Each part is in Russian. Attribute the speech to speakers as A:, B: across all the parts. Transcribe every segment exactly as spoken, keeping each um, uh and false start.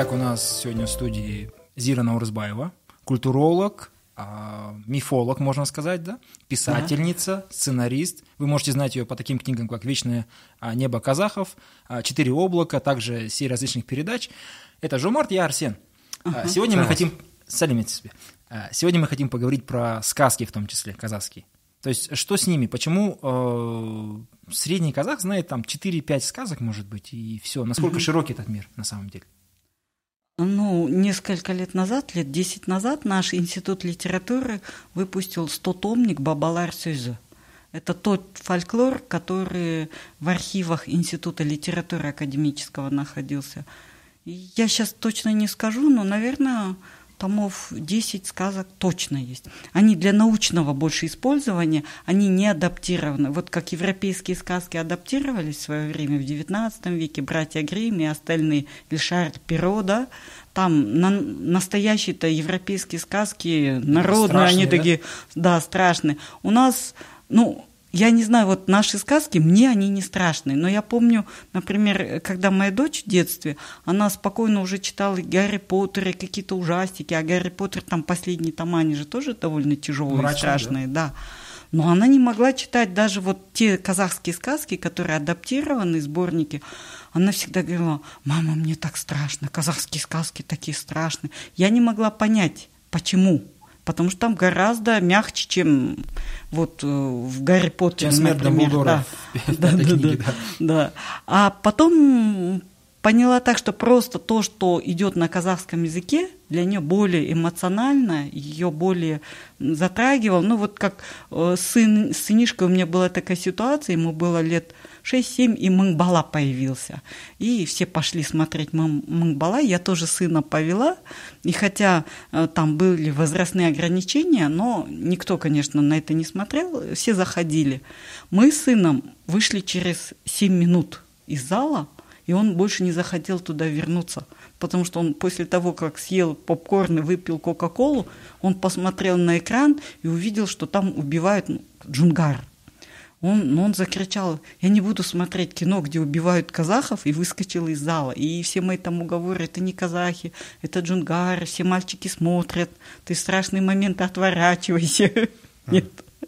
A: Итак, у нас сегодня в студии Зира Наурызбаева, культуролог, мифолог, можно сказать, да? Писательница, да. Сценарист. Вы можете знать ее по таким книгам, как «Вечное небо казахов», «Четыре облака», также серия различных передач. Это Жомарт, я Арсен. Ага. Сегодня мы хотим... Салимите себе. Сегодня мы хотим поговорить про сказки, в том числе казахские. То есть, что с ними? Почему э, средний казах знает там четыре-пять сказок, может быть, и все? Насколько угу. широкий этот мир на самом деле?
B: Ну, несколько лет назад, лет десять назад, наш институт литературы выпустил стотомник «Бабалар сөзі». Это тот фольклор, который в архивах Института литературы академического находился. И я сейчас точно не скажу, но, наверное, томов десять сказок точно есть. Они для научного больше использования, они не адаптированы. Вот как европейские сказки адаптировались в свое время в девятнадцатом веке, братья Гримм и остальные, или Шарль Перро, да, там на, настоящие-то европейские сказки народные, страшные, они да? такие, да, страшные. У нас, ну... Я не знаю, вот наши сказки, мне они не страшные, но я помню, например, когда моя дочь в детстве, она спокойно уже читала и Гарри Поттер, и какие-то ужастики, а Гарри Поттер, там последние тома, они же тоже довольно тяжелые, мрачные, страшные, да. да. Но она не могла читать даже вот те казахские сказки, которые адаптированы, сборники. Она всегда говорила: мама, мне так страшно, казахские сказки такие страшные. Я не могла понять, почему. Потому что там гораздо мягче, чем вот в Гарри Поттере, например. Да. Да, да, книге, да, да. да. А потом поняла так, что просто то, что идет на казахском языке, для нее более эмоционально, ее более затрагивало. Ну вот как сын, с сынишкой у меня была такая ситуация, ему было лет шесть-семь, и Мыңбала появился. И все пошли смотреть Мыңбала, я тоже сына повела. И хотя там были возрастные ограничения, но никто, конечно, на это не смотрел, все заходили. Мы с сыном вышли через семь минут из зала, и он больше не захотел туда вернуться, потому что он после того, как съел попкорн и выпил кока-колу, он посмотрел на экран и увидел, что там убивают ну, Джунгар. Он, он закричал: я не буду смотреть кино, где убивают казахов, и выскочил из зала. И все мои там уговоры: это не казахи, это Джунгар, все мальчики смотрят, ты в страшные моменты отворачивайся. Нет.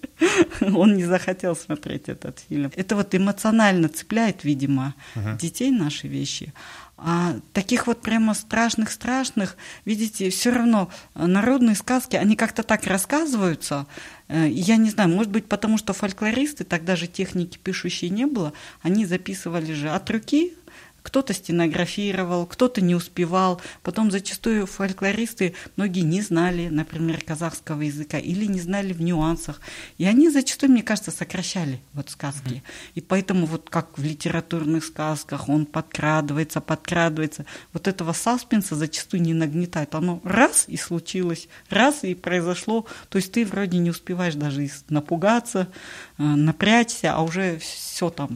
B: Он не захотел смотреть этот фильм. Это вот эмоционально цепляет, видимо, uh-huh. детей наши вещи. А таких вот прямо страшных-страшных, видите, все равно народные сказки, они как-то так рассказываются. Я не знаю, может быть, потому что фольклористы, тогда же техники пишущей не было, они записывали же от руки. Кто-то стенографировал, кто-то не успевал. Потом зачастую фольклористы, многие не знали, например, казахского языка или не знали в нюансах. И они зачастую, мне кажется, сокращали вот сказки. Mm-hmm. И поэтому вот как в литературных сказках он подкрадывается, подкрадывается. Вот этого саспенса зачастую не нагнетает. Оно раз и случилось, раз и произошло. То есть ты вроде не успеваешь даже напугаться, напрячься, а уже все там...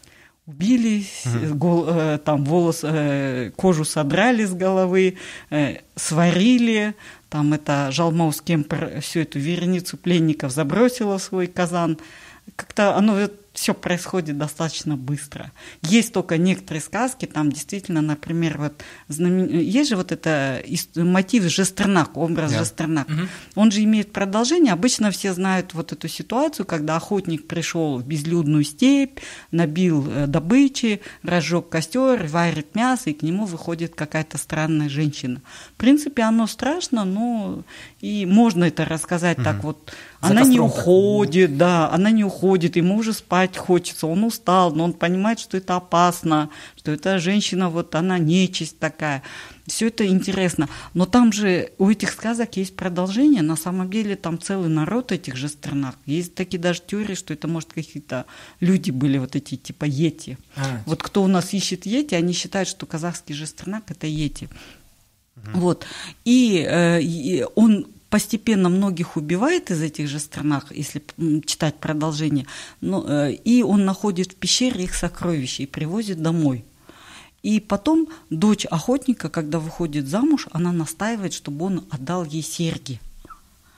B: Убили, uh-huh. гол, э, там волос, э, кожу содрали с головы, э, сварили, там это Жалмаус Кемпер всю эту вереницу пленников забросила в свой казан. Как-то оно все происходит достаточно быстро. Есть только некоторые сказки, там действительно, например, вот знамен... есть же вот это мотив Жестернак, образ yeah. Жестернак. Mm-hmm. Он же имеет продолжение. Обычно все знают вот эту ситуацию, когда охотник пришел в безлюдную степь, набил добычи, разжег костер, варит мясо, и к нему выходит какая-то странная женщина. В принципе, оно страшно, но и можно это рассказать mm-hmm. так вот. За она не уходит, так. да, она не уходит, ему уже спать хочется, он устал, но он понимает, что это опасно, что эта женщина, вот она нечисть такая. Все это интересно. Но там же у этих сказок есть продолжение, на самом деле там целый народ этих Жестернак. Есть такие даже теории, что это, может, какие-то люди были, вот эти типа йети. А, вот кто у нас ищет йети, они считают, что казахский Жестернак – это йети. Угу. Вот. И, э, и он... постепенно многих убивает из этих же странах, если читать продолжение, но, э, и он находит в пещере их сокровища и привозит домой. И потом дочь охотника, когда выходит замуж, она настаивает, чтобы он отдал ей серьги.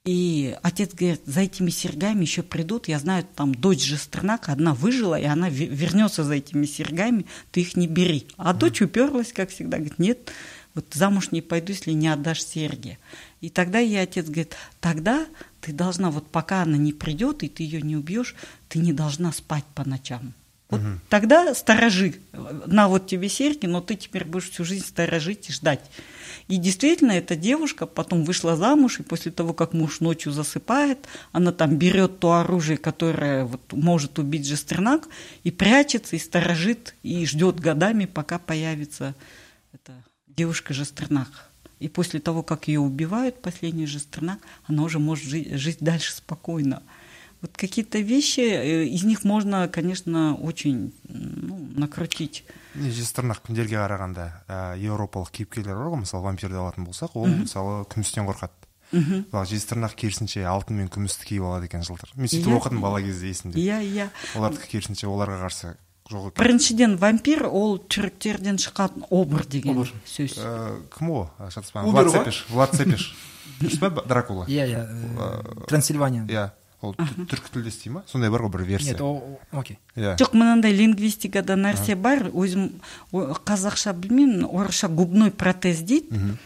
B: И отец говорит, за этими серьгами еще придут, я знаю, там дочь Жестернак, одна выжила, и она вернется за этими серьгами, ты их не бери. А mm-hmm. дочь уперлась, как всегда, говорит, нет, вот замуж не пойду, если не отдашь серьги. И тогда ей отец говорит, тогда ты должна, вот пока она не придет, и ты ее не убьешь, ты не должна спать по ночам. Вот mm-hmm. тогда сторожи, на вот тебе серьги, но ты теперь будешь всю жизнь сторожить и ждать. И действительно, эта девушка потом вышла замуж, и после того, как муж ночью засыпает, она там берет то оружие, которое вот может убить Жестернак, и прячется, и сторожит, и ждет годами, пока появится эта девушка Жестернак. И после того, как ее убивают, последний Жестернак, она уже может жить, жить дальше спокойно. Вот какие-то вещи, из них можно, конечно, очень ну, накрутить.
C: Жестернак күндерге қарағанда еуропалық кейіпкерлер бар ғой, мысалы вампирді алатын болсақ, ол мысалы күмістен қорқады. Ал Жестернак керісінше алтын мен күмісті киіп алады екен жылдар. Мен сөйтіп оқыдым бала кезде есімде.
B: Иә, иә.
C: Олардікі керісінше оларға қарсы жоқ екен.
B: Біріншіден вампир ол түріктерден шыққан обыр деген сөз.
C: Кім о? Влад Цепеш. Влад Цепеш. Дұрыс па Дракула?
A: Иә, иә. Трансильвания.
C: Иә. Ол түркі тілдес дей ма? Сондай бар ғой бір версия.
A: Нет, окей.
B: Жоқ, мынандай лингвистикада нәрсе бар, өзім қазақша білмеймін, орысша губной протез дейді,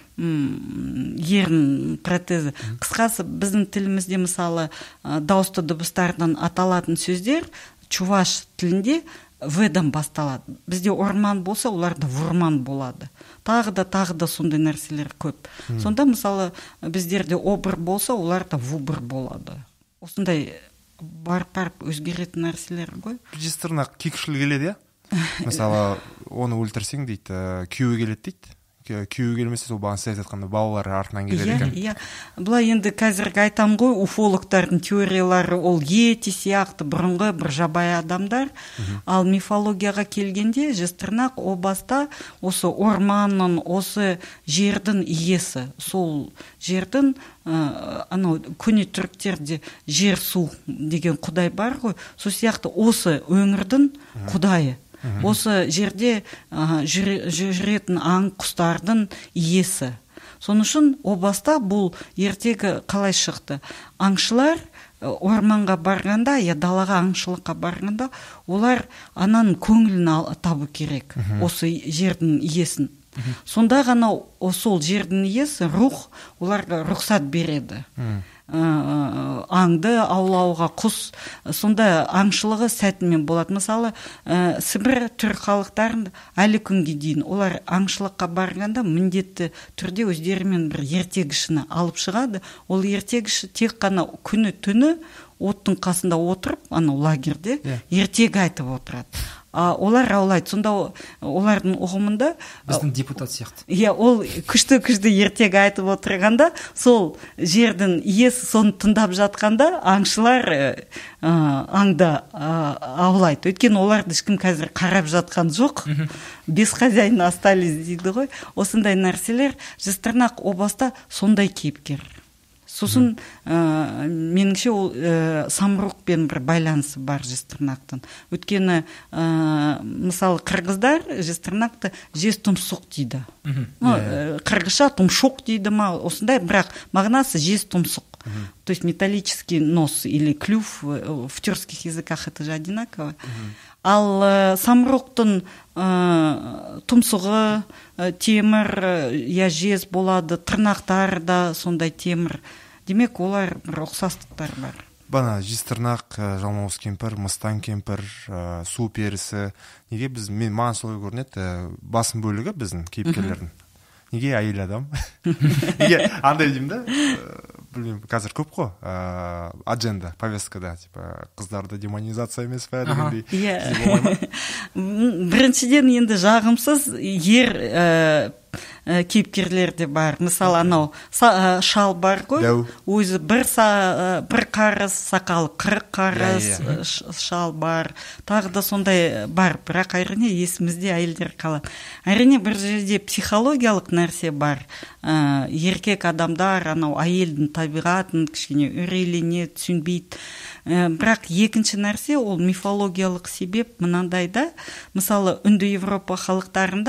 B: ерін протезі. Қысқасы біздің тілімізде мысалы дауысты дыбыстардан аталатын сөздер чуваш тілінде в-дан басталады. Бізде орман болса, оларда вурман болады. Тағы да, тағы да сондай нәрселер көп. Сонда мысалы біздерде обыр болса, оларда вубыр болады. Осындай барып-барып өзгеретін нәрселер ғой.
C: Жестернак кекшіл келеді, иә? Мысалы, оны өлтірсең дейді, күйеуі келеді дейді. Күйеуі келмесе, сол бағын сәйт айтқанда балалары артынан келеді екен.
B: Иә, иә. Бұлай енді қазіргі айтам ғой, уфологтардың теориялары ол ети сияқты бұрынғы бір жабай адамдар. Ал мифологияға келгенде Жестернак о баста осы орманның, осы жердің иесі. Сол жердің анау көне түріктерде жер су деген құдай бар ғой. Сол сияқты осы өңірдің құдайы. Осы жерде жүретін аң құстардың иесі. Соның үшін о баста бұл ертегі қалай шықты? Аңшылар орманға барғанда, я далаға аңшылыққа барғанда, олар ананың көңілін табу керек, осы жердің иесін. Сонда ғана сол жердің иесі рух оларға рұқсат береді. Аңды аулауға, құс, сонда аңшылығы сәтімен болады. Мысалы, Сібір түрік халықтарында әлі күнге дейін олар аңшылыққа барғанда міндетті түрде өздерімен бір ертегішіні алып шығады. Ол ертегіші тек қана күні түні оттың қасында отырып, ана лагерде ертегі айтып отырады. Олар аулайды. Сонда олардың ұғымында
A: біздің депутат сияқты.
B: Иә, ол күшті-күшті ертегі айтып отырғанда, сол жердің иесі соны тыңдап жатқанда, аңшылар аңда аулайды. Өйткені оларды ешкім қазір қарап жатқан жоқ. Без хозяина остались дейді ғой. Осындай нәрселер Жестернак о баста сондай кейіпкер. Сосын меніңше ол самұрықпен бір байланысы бар Жестернактың. Өйткені мысалы қырғыздар Жестернакты жез тұмсық дейді. Қырғызша тұмшоқ дейді ма, осындай, бірақ мағынасы жез тұмсық. То есть металлический нос или клюв, в тюркских языках это же одинаково. Ал самұрықтың тұмсығы темір, я жез болады, тырнақтар да сондай темір. Демек, олар бір ұқсастықтар бар.
C: Бана Жестернак, жалмауыз кемпір, мыстан кемпір, су перісі. Неге біз, мен маған солай көрінеді, басым бөлігі біздің кейіпкерлердің. Неге әйел адам? Неге андай деймін да, білмеймін, қазір көп қой, адженда, повесткада, қыздарды демонизация емес пә дегендей.
B: Біріншіден енді жағымсыз ер кейіпкерлер де бар. Мысалы, анау шал бар ғой, өзі бір қарыз, сақалы қырық қарыз шал бар. Тағы да сондай бар, бірақ әрине есімізде әйелдер қалады. Әрине бір жерде психологиялық нәрсе бар. Еркек адамдар анау әйелдің табиғатын кішкене үрейлене түсінбейді. Бірақ екінші нәрсе ол мифологиялық себеп мынандайда, мысалы үнді Европа халықтарында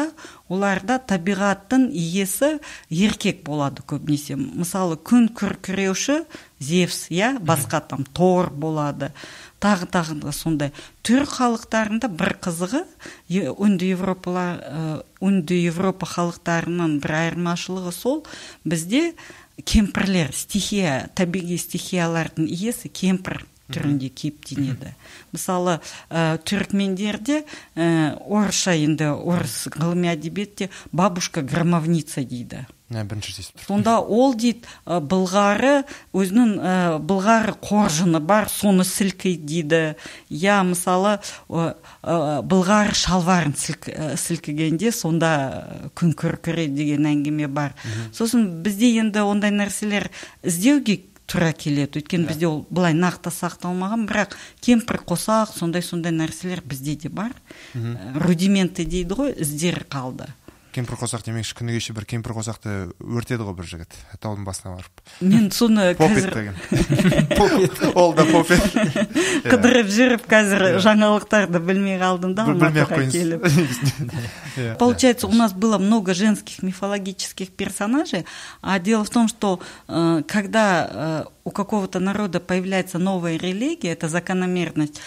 B: оларда табиғаттың иесі еркек болады көбінесе. Мысалы, күн күркіреуші Зевс, я, басқа там Тор болады. Тағы тағы сондай. Түрік халықтарында бір қызығы, үнді Европа, үнді Европа халықтарының бір айырмашылығы сол, бізде кемпірлер, стихия, табиғи стихиялардың иесі кемпір түрінде кейіптенеді. Мысалы, түрікмендерде орысша енді орыс ғылыми әдебиетте бабушка громовница дейді. Сонда ол дейді, былғары, өзінің былғары қоржыны бар, соны сілкейді дейді. Я, мысалы, былғары шалварын сілкігенде, сонда күн күркіреді деген әңгіме бар. Сосын бізде енді ондай нәрселер іздеуге тура келеді. Өйткені бізде ол былай нақты сақталмаған, бірақ кемпір қосақ, сондай-сондай нәрселер бізде де бар. Рудименті дейді ғой, іздері қалды.
C: Кемпір қосақ демекші, күні кеше бір кемпір қосақты өртеді ғой бір жігіт, таудың басына барып.
B: Мен соны
C: қазір... Попет. Ол да попет.
B: Қыдырып жүріп, қазір жаңалықтарды білмей қалдым да, алматыға келіп. Получается, у нас было много женских мифологических персонажей, а дело в том, что когда у какого-то народа появляется новая религия, это закономерность,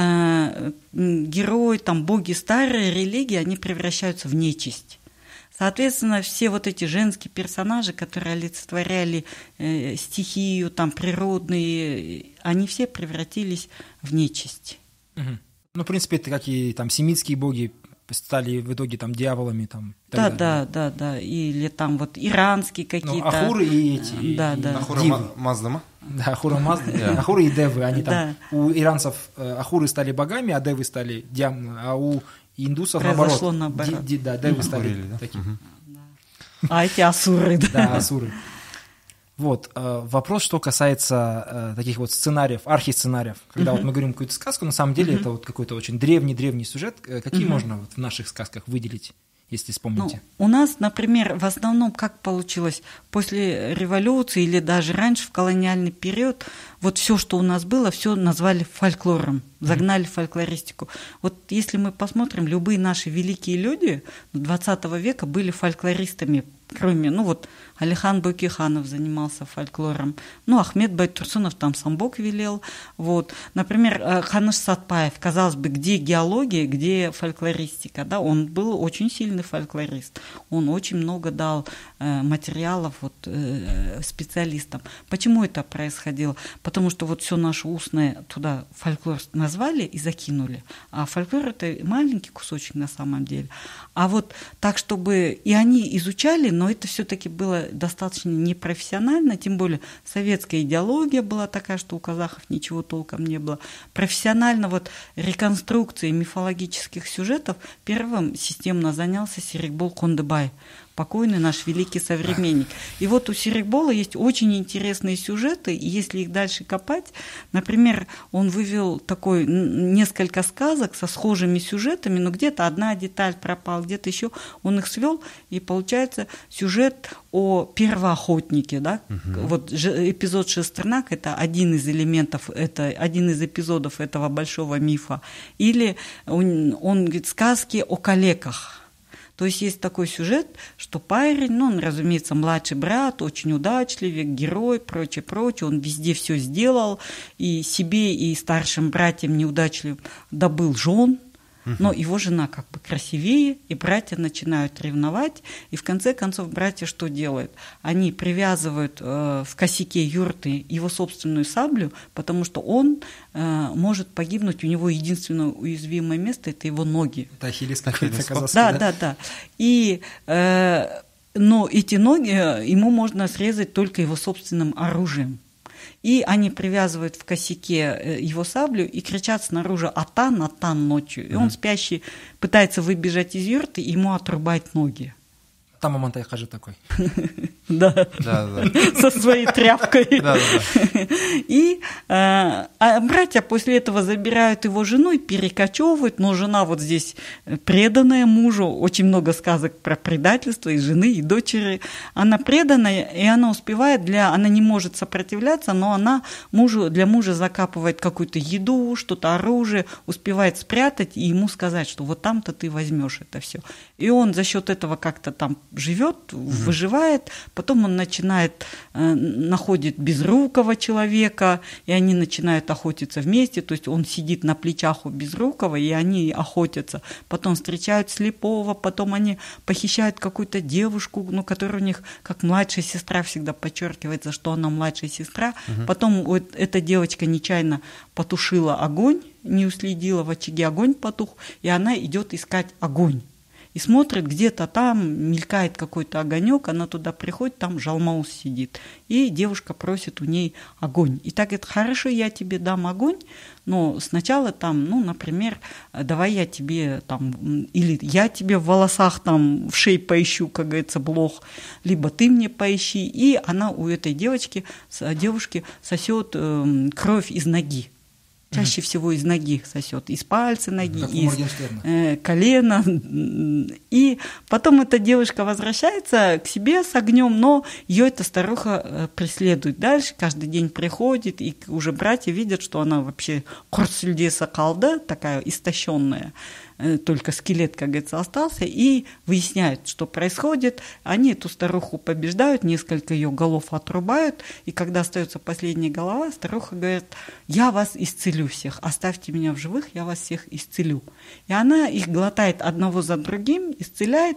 B: герои, там, боги старой религии, они превращаются в нечисть. Соответственно, все вот эти женские персонажи, которые олицетворяли э, стихию, там, природные, они все превратились в нечисть.
A: Угу. Ну, в принципе, это как и там семитские боги стали в итоге там дьяволами. Там,
B: да, да, да, да. Или там вот иранские какие-то.
A: Ну, Ахуры и эти.
B: Да, да.
C: Ахура Мазда.
A: Да, Ахура Мазда. Ахуры и Девы. Они там, у иранцев Ахуры стали богами, а Девы стали дьяволами, а у индусов
B: произошло
A: наоборот.
B: наоборот.
A: Ди, ди, да, Девы стали
C: Ахурили, да?
A: такие.
C: Угу.
B: А эти асуры, да.
A: Да, асуры. Вот, э, вопрос, что касается э, таких вот сценариев, архисценариев, когда uh-huh. вот мы говорим какую-то сказку, на самом деле uh-huh. это вот какой-то очень древний-древний сюжет. Какие uh-huh. можно вот в наших сказках выделить, если вспомните?
B: Ну, у нас, например, в основном как получилось, после революции или даже раньше, в колониальный период, вот все, что у нас было, все назвали фольклором, загнали в фольклористику. Вот если мы посмотрим, любые наши великие люди двадцатого века были фольклористами, кроме, ну вот, Алихан Бөкейханов занимался фольклором, ну, Ахмет Байтурсунов там сам Бог велел, вот. Например, Ханыш Сатпаев, казалось бы, где геология, где фольклористика, да, он был очень сильный фольклорист, он очень много дал э, материалов вот, э, специалистам. Почему это происходило? Потому что вот все наше устное туда фольклор назвали и закинули, а фольклор это маленький кусочек на самом деле. А вот так, чтобы и они изучали, но это все-таки было достаточно непрофессионально, тем более советская идеология была такая, что у казахов ничего толком не было. Профессионально вот реконструкцией мифологических сюжетов первым системно занялся Серикбол Кондыбай, покойный наш великий современник. И вот у Серикбола есть очень интересные сюжеты, и если их дальше копать, например, он вывел такой несколько сказок со схожими сюжетами, но где-то одна деталь пропала, где-то еще он их свел, и получается сюжет о первоохотнике, да? Угу. Вот эпизод Шестернак – это один из элементов, это один из эпизодов этого большого мифа. Или он, он говорит сказки о калеках. То есть есть такой сюжет, что парень, ну, он, разумеется, младший брат, очень удачливый, герой, прочее, прочее, он везде все сделал, и себе, и старшим братьям неудачливым добыл жен, но его жена как бы красивее, и братья начинают ревновать, и в конце концов братья что делают? Они привязывают э, в косяке юрты его собственную саблю, потому что он э, может погибнуть, у него единственное уязвимое место – это его ноги.
A: Это Ахиллес какой-то казахский,
B: да?
A: Да,
B: да, да. И, э, но эти ноги ему можно срезать только его собственным оружием. И они привязывают в косяке его саблю и кричат снаружи «Атан, Атан» ночью. И он, спящий, пытается выбежать из юрты, и ему отрубают ноги.
A: Там Амантай Хажи такой.
B: Да, со своей тряпкой. И А братья после этого забирают его жену и перекочевывают, но жена вот здесь преданная мужу, очень много сказок про предательство и жены, и дочери. Она преданная, и она успевает для... Она не может сопротивляться, но она мужу, для мужа закапывает какую-то еду, что-то оружие, успевает спрятать и ему сказать, что вот там-то ты возьмешь это все. И он за счет этого как-то там живет, выживает, потом он начинает, э, находит безрукого человека, и они начинают охотиться вместе, то есть он сидит на плечах у безрукого, и они охотятся. Потом встречают слепого, потом они похищают какую-то девушку, ну, которая у них как младшая сестра, всегда подчеркивается, что она младшая сестра. Угу. Потом вот эта девочка нечаянно потушила огонь, не уследила, в очаге огонь потух, и она идет искать огонь. И смотрит, где-то там мелькает какой-то огонек, она туда приходит, там Жалмауз сидит. И девушка просит у ней огонь. И так говорит, хорошо, я тебе дам огонь, но сначала там, ну, например, давай я тебе там, или я тебе в волосах там в шее поищу, как говорится, блох, либо ты мне поищи. И она у этой девочки, девушки сосет э, кровь из ноги. Чаще всего из ноги сосет, из пальца ноги, как из э, колена. И потом эта девушка возвращается к себе с огнем, но ее эта старуха преследует дальше, каждый день приходит, и уже братья видят, что она вообще корсульдеса калда, такая истощенная. Только скелет, как говорится, остался, и выясняют, что происходит. Они эту старуху побеждают, несколько ее голов отрубают, и когда остается последняя голова, старуха говорит, я вас исцелю всех, оставьте меня в живых, я вас всех исцелю. И она их глотает одного за другим, исцеляет,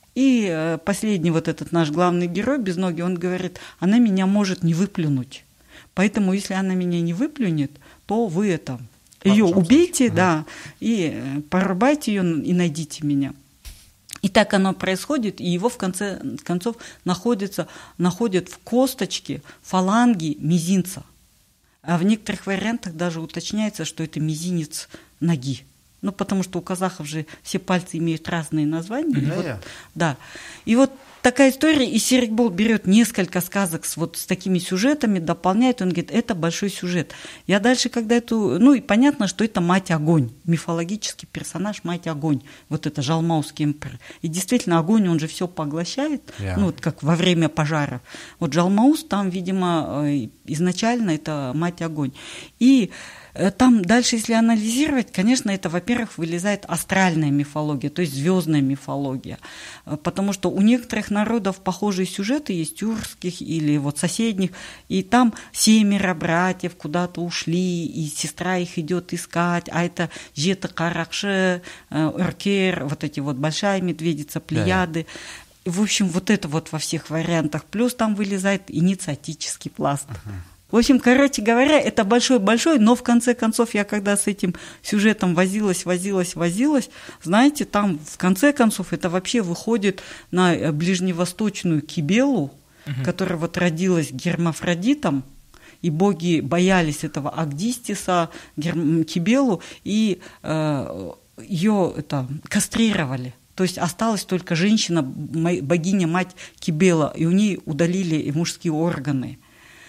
B: и последний вот этот наш главный герой, Безногий, он говорит, она меня может не выплюнуть, поэтому если она меня не выплюнет, то вы это... Ее убейте, угу. да, и порубайте ее и найдите меня. И так оно происходит, и его в конце концов находится, находят в косточке фаланги мизинца. А в некоторых вариантах даже уточняется, что это мизинец ноги. Ну, потому что у казахов же все пальцы имеют разные названия. Mm-hmm. И вот, да. И вот такая история, и Серикбол берет несколько сказок с, вот, с такими сюжетами, дополняет, он говорит, это большой сюжет. Я дальше, когда эту... Ну, и понятно, что это мать-огонь, мифологический персонаж мать-огонь, вот это Жалмаузский эмперор. И действительно, огонь, он же все поглощает, yeah. ну, вот как во время пожара. Вот Жалмауз там, видимо, изначально это мать-огонь. И там дальше, если анализировать, конечно, это, во-первых, вылезает астральная мифология, то есть звездная мифология, потому что у некоторых народов похожие сюжеты есть, тюркских или вот соседних, и там семеро братьев куда-то ушли, и сестра их идет искать, а это Жета Каракши, Эркер, вот эти вот большая медведица, Плеяды. Да. В общем, вот это вот во всех вариантах. Плюс там вылезает инициатический пласт. Uh-huh. В общем, короче говоря, это большой-большой, но в конце концов я когда с этим сюжетом возилась, возилась, возилась, знаете, там в конце концов это вообще выходит на ближневосточную Кибелу, угу. которая вот родилась гермафродитом, и боги боялись этого Агдистиса, герм... Кибелу, и э, ее это, кастрировали. То есть осталась только женщина, богиня-мать Кибела, и у нее удалили мужские органы.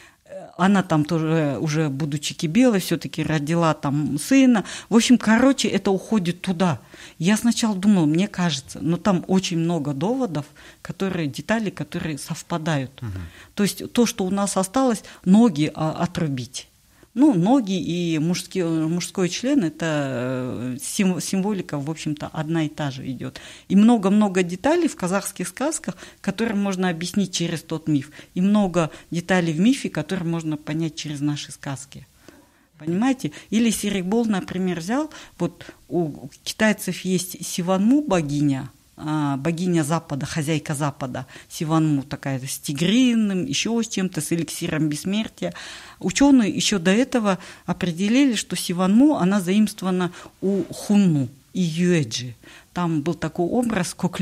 B: Она там тоже, уже будучи Кибелой, все-таки родила там сына. В общем, короче, это уходит туда. Я сначала думала, мне кажется, но там очень много доводов, которые, детали, которые совпадают. Угу. То есть то, что у нас осталось, ноги а, отрубить. Ну, ноги и мужский, мужской член – это символика, в общем-то, одна и та же идет. И много-много деталей в казахских сказках, которые можно объяснить через тот миф. И много деталей в мифе, которые можно понять через наши сказки. Понимаете? Или Серикбол, например, взял, вот у китайцев есть Сиванму богиня, богиня Запада, хозяйка Запада, Сиванму такая с тигриным, еще с чем-то, с эликсиром бессмертия. Ученые еще до этого определили, что Сиванму, она заимствована у Хунну и Юэджи. Там был такой образ Коклен.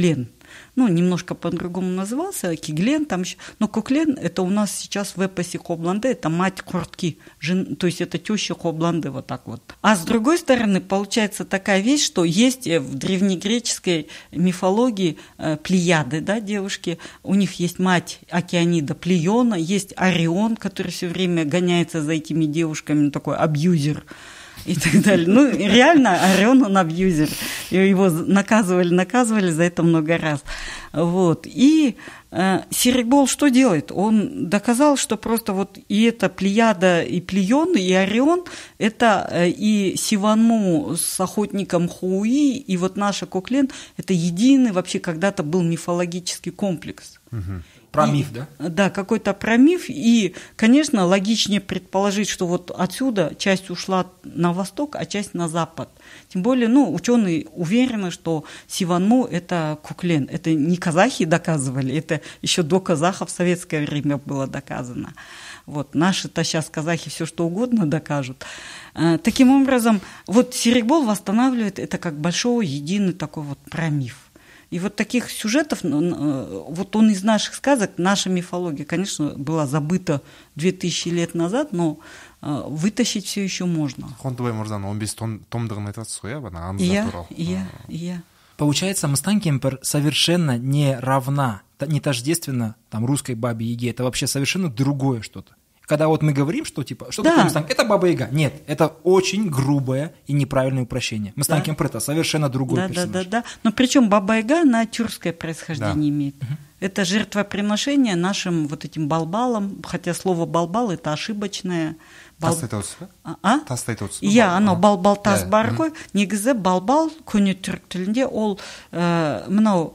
B: ну, немножко по-другому назывался, Киглен там еще, но Коклен это у нас сейчас в эпосе Хобланды, это мать Куртки, жен, то есть это теща Хобланды, вот так вот. А с другой стороны, получается такая вещь, что есть в древнегреческой мифологии э, Плеяды, да, девушки, у них есть мать Океанида Плеона, есть Орион, который все время гоняется за этими девушками, такой абьюзер, и так далее. Ну, реально, Орион, он абьюзер. Его наказывали, наказывали за это много раз. Вот. И э, Серикбол что делает? Он доказал, что просто вот и эта Плеяда, и Плеон, и Орион, это э, и Сиванму с охотником Хуи, и вот наша Коклен, это единый вообще когда-то был мифологический комплекс.
A: Угу. Про
B: и,
A: миф, да?
B: Да, какой-то про миф. И, конечно, логичнее предположить, что вот отсюда часть ушла на восток, а часть на запад. Тем более, ну, ученые уверены, что Сиванму – это Коклен. Это не казахи доказывали, это еще до казахов в советское время было доказано. Вот, наши-то сейчас казахи все что угодно докажут. Таким образом, вот Серикбол восстанавливает это как большой, единый такой вот промиф. И вот таких сюжетов, вот он из наших сказок, наша мифология, конечно, была забыта две тысячи лет назад, но вытащить все еще можно.
C: Хондубай Мурзаның он бес томдығын айтасыз ғой, бана аңыздар туралы.
B: Иә, иә.
A: Получается, Мыстан Кемпір совершенно не равна, не тождественно там русской бабе Яге, это вообще совершенно другое что-то. Когда вот мы говорим, что типа, что да. такое Мыстан, это Баба Яга. Нет, это очень грубое и неправильное упрощение. Мыстан да. Кемпір это совершенно другой
B: да,
A: персонаж.
B: Да, да, да. Но причем Баба Яга, она тюркское происхождение да. имеет. Угу. Это жертвоприношение нашим вот этим балбалам, хотя слово балбал это ошибочное.
C: Тас айтып отырсыз ба?
B: А?
C: Тас айтып отырсыз ба?
B: Иә, анау балбал тас бар ғой. Негізі балбал көне түрік тілінде ол мынау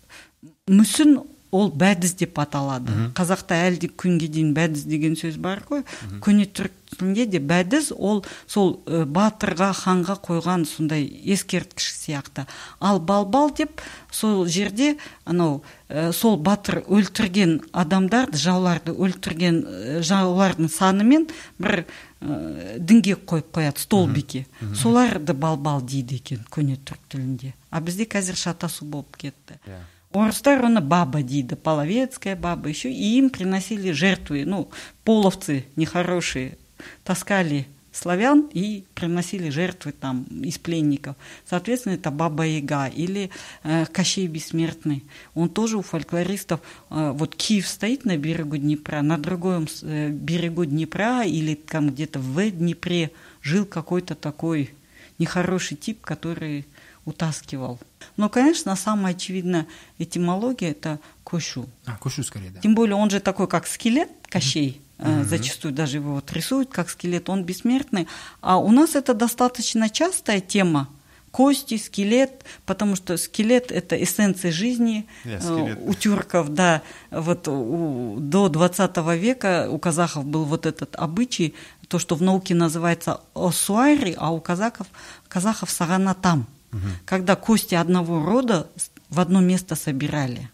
B: мүсін ол бәдіз деп аталады. Қазақта әлі күнге дейін бәдіз деген сөз бар ғой. Көне түрік тілінде де бәдіз ол сол батырға, ханға қойған сондай ескерткіш сияқты. Ал балбал деп сол жерде анау сол батыр өлтірген адамдарды, жауларды өлтірген жаулардың санымен бір діңгек қойып қояды, столбике. Соларды балбал дейді екен көне түрік тілінде. А бізде қазір шатасу болып кетті. Орыстар оны баба дейді, половецкая баба еще, и им приносили жертвы, ну, половцы нехорошие, таскали славян и приносили жертвы там из пленников. Соответственно, это Баба Яга или э, Кощей Бессмертный. Он тоже у фольклористов, э, вот Киев стоит на берегу Днепра, на другом э, берегу Днепра или там где-то в Днепре жил какой-то такой нехороший тип, который утаскивал. Но, конечно, самая очевидная этимология – это Кошу.
A: А, Кошу скорее, да.
B: Тем более он же такой, как скелет, Кощей. Mm-hmm. Зачастую даже его вот рисуют как скелет, он бессмертный. А у нас это достаточно частая тема. Кости, скелет, потому что скелет – это эссенция жизни yeah, у тюрков. Да, вот у, до двадцатого века у казахов был вот этот обычай, то, что в науке называется осуайри, а у казахов, казахов саганатам. Угу. Когда кости одного рода в одно место собирали.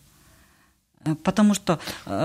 B: Потому что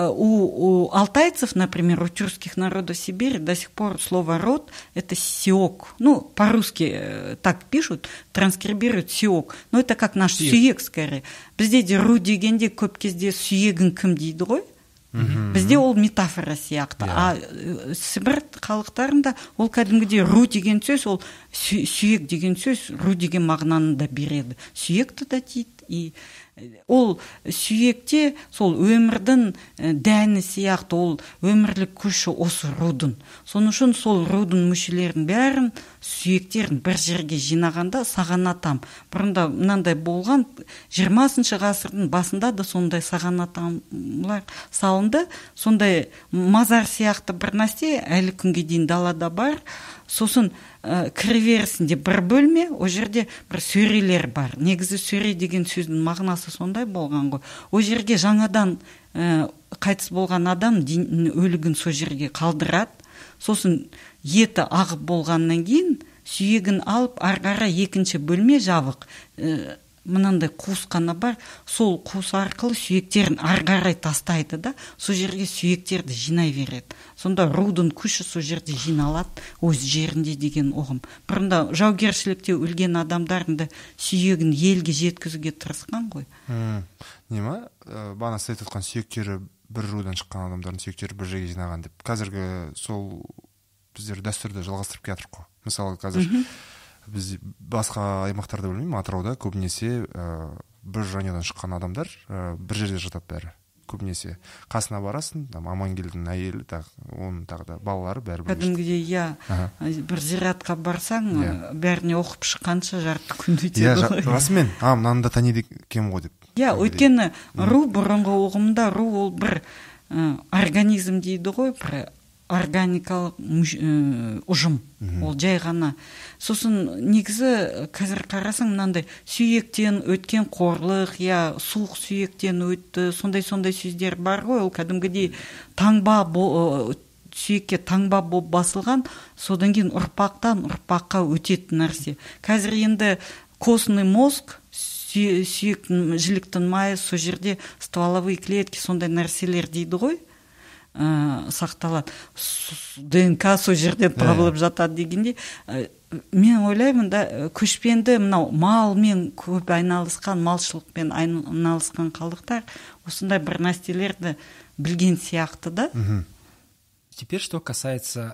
B: у, у алтайцев, например, у тюркских народов Сибири до сих пор слово «род» – это «сиок». Ну, по-русски так пишут, транскрибируют «сиок». Но это как наш «сүйек» скорее. Бізде «ру» дегенде көп кезде «сүйегін кім» дейді ғой. Бізде ол метафора сияқты. Yeah. А Сібір халықтарында ол кәдімгідей «ру» деген сөз, ол «сүйек» деген сөз «ру» деген мағынаны да береді. «Сүйекті» да дейді. И ол сүйекте сол өмірдің дәні сияқты, ол өмірлік күші осы рудың. Соның үшін сол рудың мүшелерін бәрін, сүйектерін бір жерге жинағанда сағанатам. Бұрында мынандай болған, жиырмасыншы ғасырдың басында да сондай сағанатамлар салынды. Сондай мазар сияқты бір нәрсе әлі күнге дейін далада бар. Сосын ә, кіреберісінде бір бөлме, о жерде бір сөрелер бар. Негізі сөре деген сөздің мағынасы сондай болған ғой. О жерге жаңадан ә, қайтыс болған адам өлігін со жерге қалдырады. Сосын еті ағып болғаннан кейін сүйегін алып арғара екінші бөлме жабық. Ә, мынандай қуыс қана бар, сол қуыс арқылы сүйектерін ары қарай тастайды да, сол жерге сүйектерді жинай береді. Сонда рудың күші сол жерде жиналады, өз жерінде деген ұғым. Бұрында жаугершілікте өлген адамдардың да сүйегін елге жеткізуге тырысқан ғой.
C: Нема? Бана сіз айтқан сүйектері бір рудан шыққан адамдардың сүйектері бір жерге жинаған деп. Қазіргі сол біздер дәстүрді жалғастырып келе жатырмық қой. Мысалы қазір біз басқа аймақтарда білмеймін, Атырауда көбінесе ә, бір жанұядан шыққан адамдар ә, бір жерде жатады бәрі. Көбінесе қасына барасың, там Амангелдінің әйелі, оның тағы да балалары бәрі бір.
B: Кәдімгідей, иә, бір зиратқа барсаң, бәріне оқып шыққанша жарты күн өтеді ғой.
C: Иә, расымен, а, мынаны да таниды екен ғой деп.
B: Иә, өйткені ру бұрынғы ұғымда ру ол бір организм дейді ғой, бір органикалық ұжым, ол жай ғана. Сосын негізі қазір қарасаң мынандай сүйектен өткен қорлық, я суық сүйектен өтті, сондай-сондай сөздер бар ғой, ол кәдімгідей таңба, сүйекке таңба болып басылған, содан кейін ұрпақтан ұрпаққа өтетін нәрсе. Қазір енді костный мозг, сүйек жіліктің майы, сол жерде стволовые клетки, сондай нәрселер дейді ғой, сақталады. ДНК сол жерден табылып жатады дегенде, мен ойлаймын да, көшпенді мынау малмен көп айналысқан, малшылықпен айналысқан қалдықтар осындай бір нәрселерді білген сияқты да.
A: Теперь что касается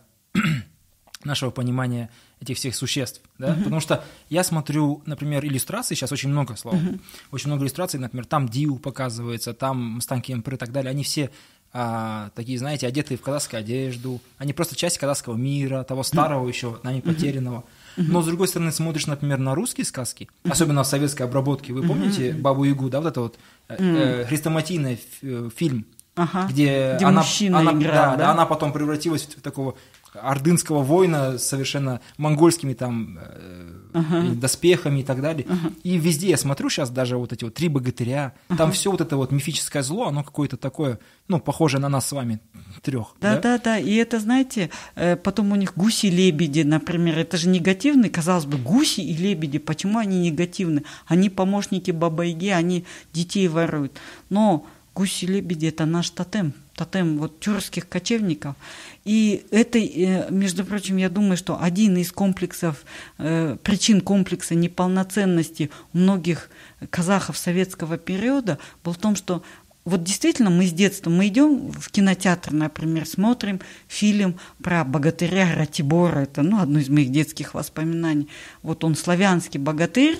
A: нашего понимания этих всех существ, да, uh-huh. потому что я смотрю, например, иллюстрации, сейчас очень много, слова, uh-huh. очень много иллюстраций, например, там Диу показывается, там Мустанг Кемпер и так далее, они все а, такие, знаете, одетые в казахскую одежду, они просто часть казахского мира, того старого uh-huh. еще, нами потерянного. Uh-huh. Но, с другой стороны, смотришь, например, на русские сказки, uh-huh. особенно в советской обработке, вы помните uh-huh. Бабу-Ягу, да, вот это вот э, э, хрестоматийный фильм,
B: uh-huh.
A: где,
B: где
A: она,
B: мужчина
A: она,
B: играл,
A: да,
B: да?
A: она потом превратилась в такого ордынского воина с совершенно монгольскими там э, uh-huh. доспехами и так далее. Uh-huh. И везде я смотрю сейчас даже вот эти вот три богатыря, uh-huh. там все вот это вот мифическое зло, оно какое-то такое, ну, похожее на нас с вами трех.
B: Да, да, да, да. И это, знаете, потом у них гуси и лебеди, например, это же негативный, казалось бы, гуси и лебеди, почему они негативны? Они помощники Баба-Яги, они детей воруют. Но гуси и лебеди – это наш тотем, тотем вот тюркских кочевников. И это, между прочим, я думаю, что один из комплексов, причин комплекса неполноценности у многих казахов советского периода был в том, что вот действительно мы с детства, мы идем в кинотеатр, например, смотрим фильм про богатыря Ратибора, это, ну, одно из моих детских воспоминаний. Вот он славянский богатырь,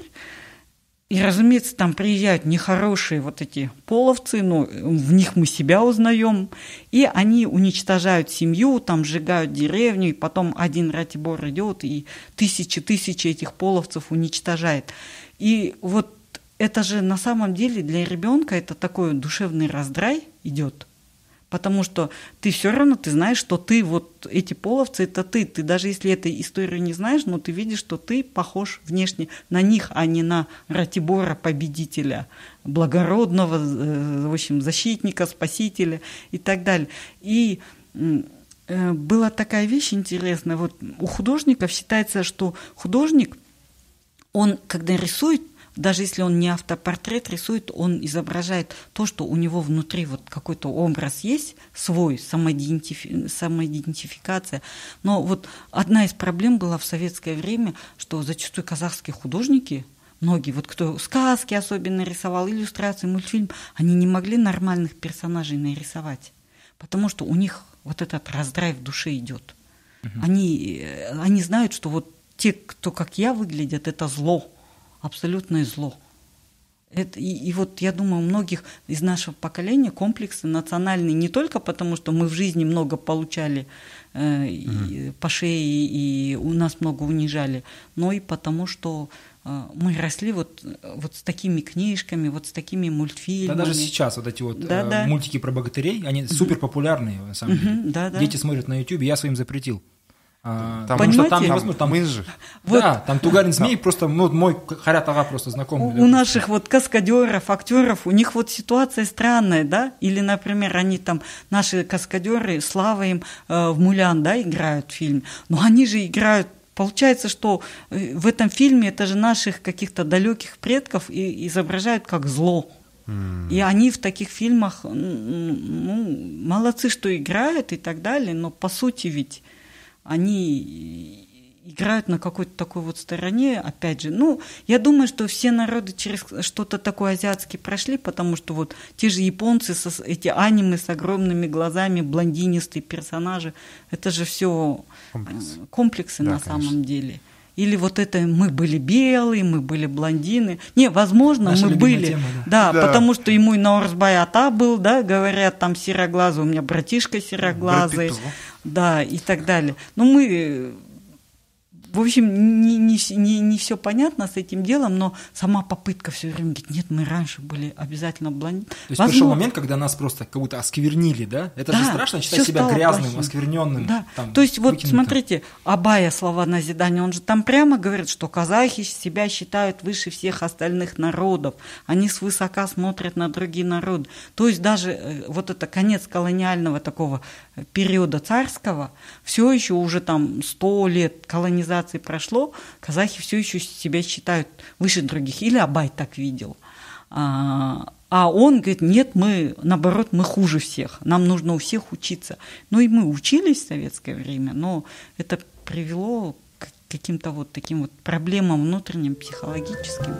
B: и, разумеется, там приезжают нехорошие вот эти половцы, но в них мы себя узнаем, и они уничтожают семью, там сжигают деревню, и потом один Ратибор идет и тысячи-тысячи этих половцев уничтожает. И вот это же на самом деле для ребенка это такой душевный раздрай идет, потому что ты все равно ты знаешь, что ты вот эти половцы это ты, ты даже если этой историю не знаешь, но ты видишь, что ты похож внешне на них, а не на Ратибора победителя, благородного, в общем, защитника, спасителя и так далее. И была такая вещь интересная, вот у художников считается, что художник, он когда рисует, даже если он не автопортрет рисует, он изображает то, что у него внутри вот какой-то образ есть, свой, самоидентифи... самоидентификация. Но вот одна из проблем была в советское время, что зачастую казахские художники, многие, вот кто сказки особенно рисовал, иллюстрации, мультфильм, они не могли нормальных персонажей нарисовать, потому что у них вот этот раздрай в душе идет. Uh-huh. Они, они знают, что вот те, кто как я выглядят, это зло. Абсолютное зло. Это, и, и вот я думаю, у многих из нашего поколения комплексы национальные не только потому, что мы в жизни много получали э, mm-hmm. и, по шее и у нас много унижали, но и потому, что э, мы росли вот, вот с такими книжками, вот с такими мультфильмами.
A: Да, даже сейчас вот эти вот
B: да,
A: э,
B: да.
A: мультики про богатырей, они mm-hmm. супер популярные на самом деле.
B: Mm-hmm, да, да.
A: Дети смотрят на YouTube, я своим запретил. А,
C: там,
A: потому что там
C: невозможно, там мы же.
A: Вот. Да, там Тугарин Змей, просто ну, мой Харят Ага просто знакомый.
B: У, у наших вот каскадеров, актеров, у них вот ситуация странная, да? Или, например, они там, наши каскадеры, слава им, э, в Мулян, да, играют в фильме, но они же играют получается, что в этом фильме это же наших каких-то далеких предков и изображают как зло. Mm. И они в таких фильмах, ну, молодцы, что играют и так далее, но по сути ведь они играют на какой-то такой вот стороне, опять же. Ну, я думаю, что все народы через что-то такое азиатское прошли, потому что вот те же японцы, со, эти аниме с огромными глазами, блондинистые персонажи, это же все Комплекс. комплексы да, на конечно. Самом деле. Или вот это мы были белые, мы были блондины. Не, возможно, наша мы были. Тема, да. Да, да, потому что ему и Наурзбай Ата был, да, говорят, там сероглазый, у меня братишка сероглазый, да, и так далее. Но мы... В общем, не, не, не, не все понятно с этим делом, но сама попытка все время говорит, нет, мы раньше были обязательно блондины.
A: То есть Возможно... пришел момент, когда нас просто как будто осквернили, да? Это да, же страшно считать себя грязным, плохим. Оскверненным. Да.
B: Там, то есть вот выкинутым. Смотрите, Абая, слова назидания, он же там прямо говорит, что казахи себя считают выше всех остальных народов, они свысока смотрят на другие народы. То есть даже вот это конец колониального такого периода царского, все еще уже там сто лет колонизации прошло, казахи все еще себя считают выше других. Или Абай так видел. А, а он говорит, нет, мы, наоборот, мы хуже всех. Нам нужно у всех учиться. Ну и мы учились в советское время, но это привело к каким-то вот таким вот проблемам внутренним, психологическим.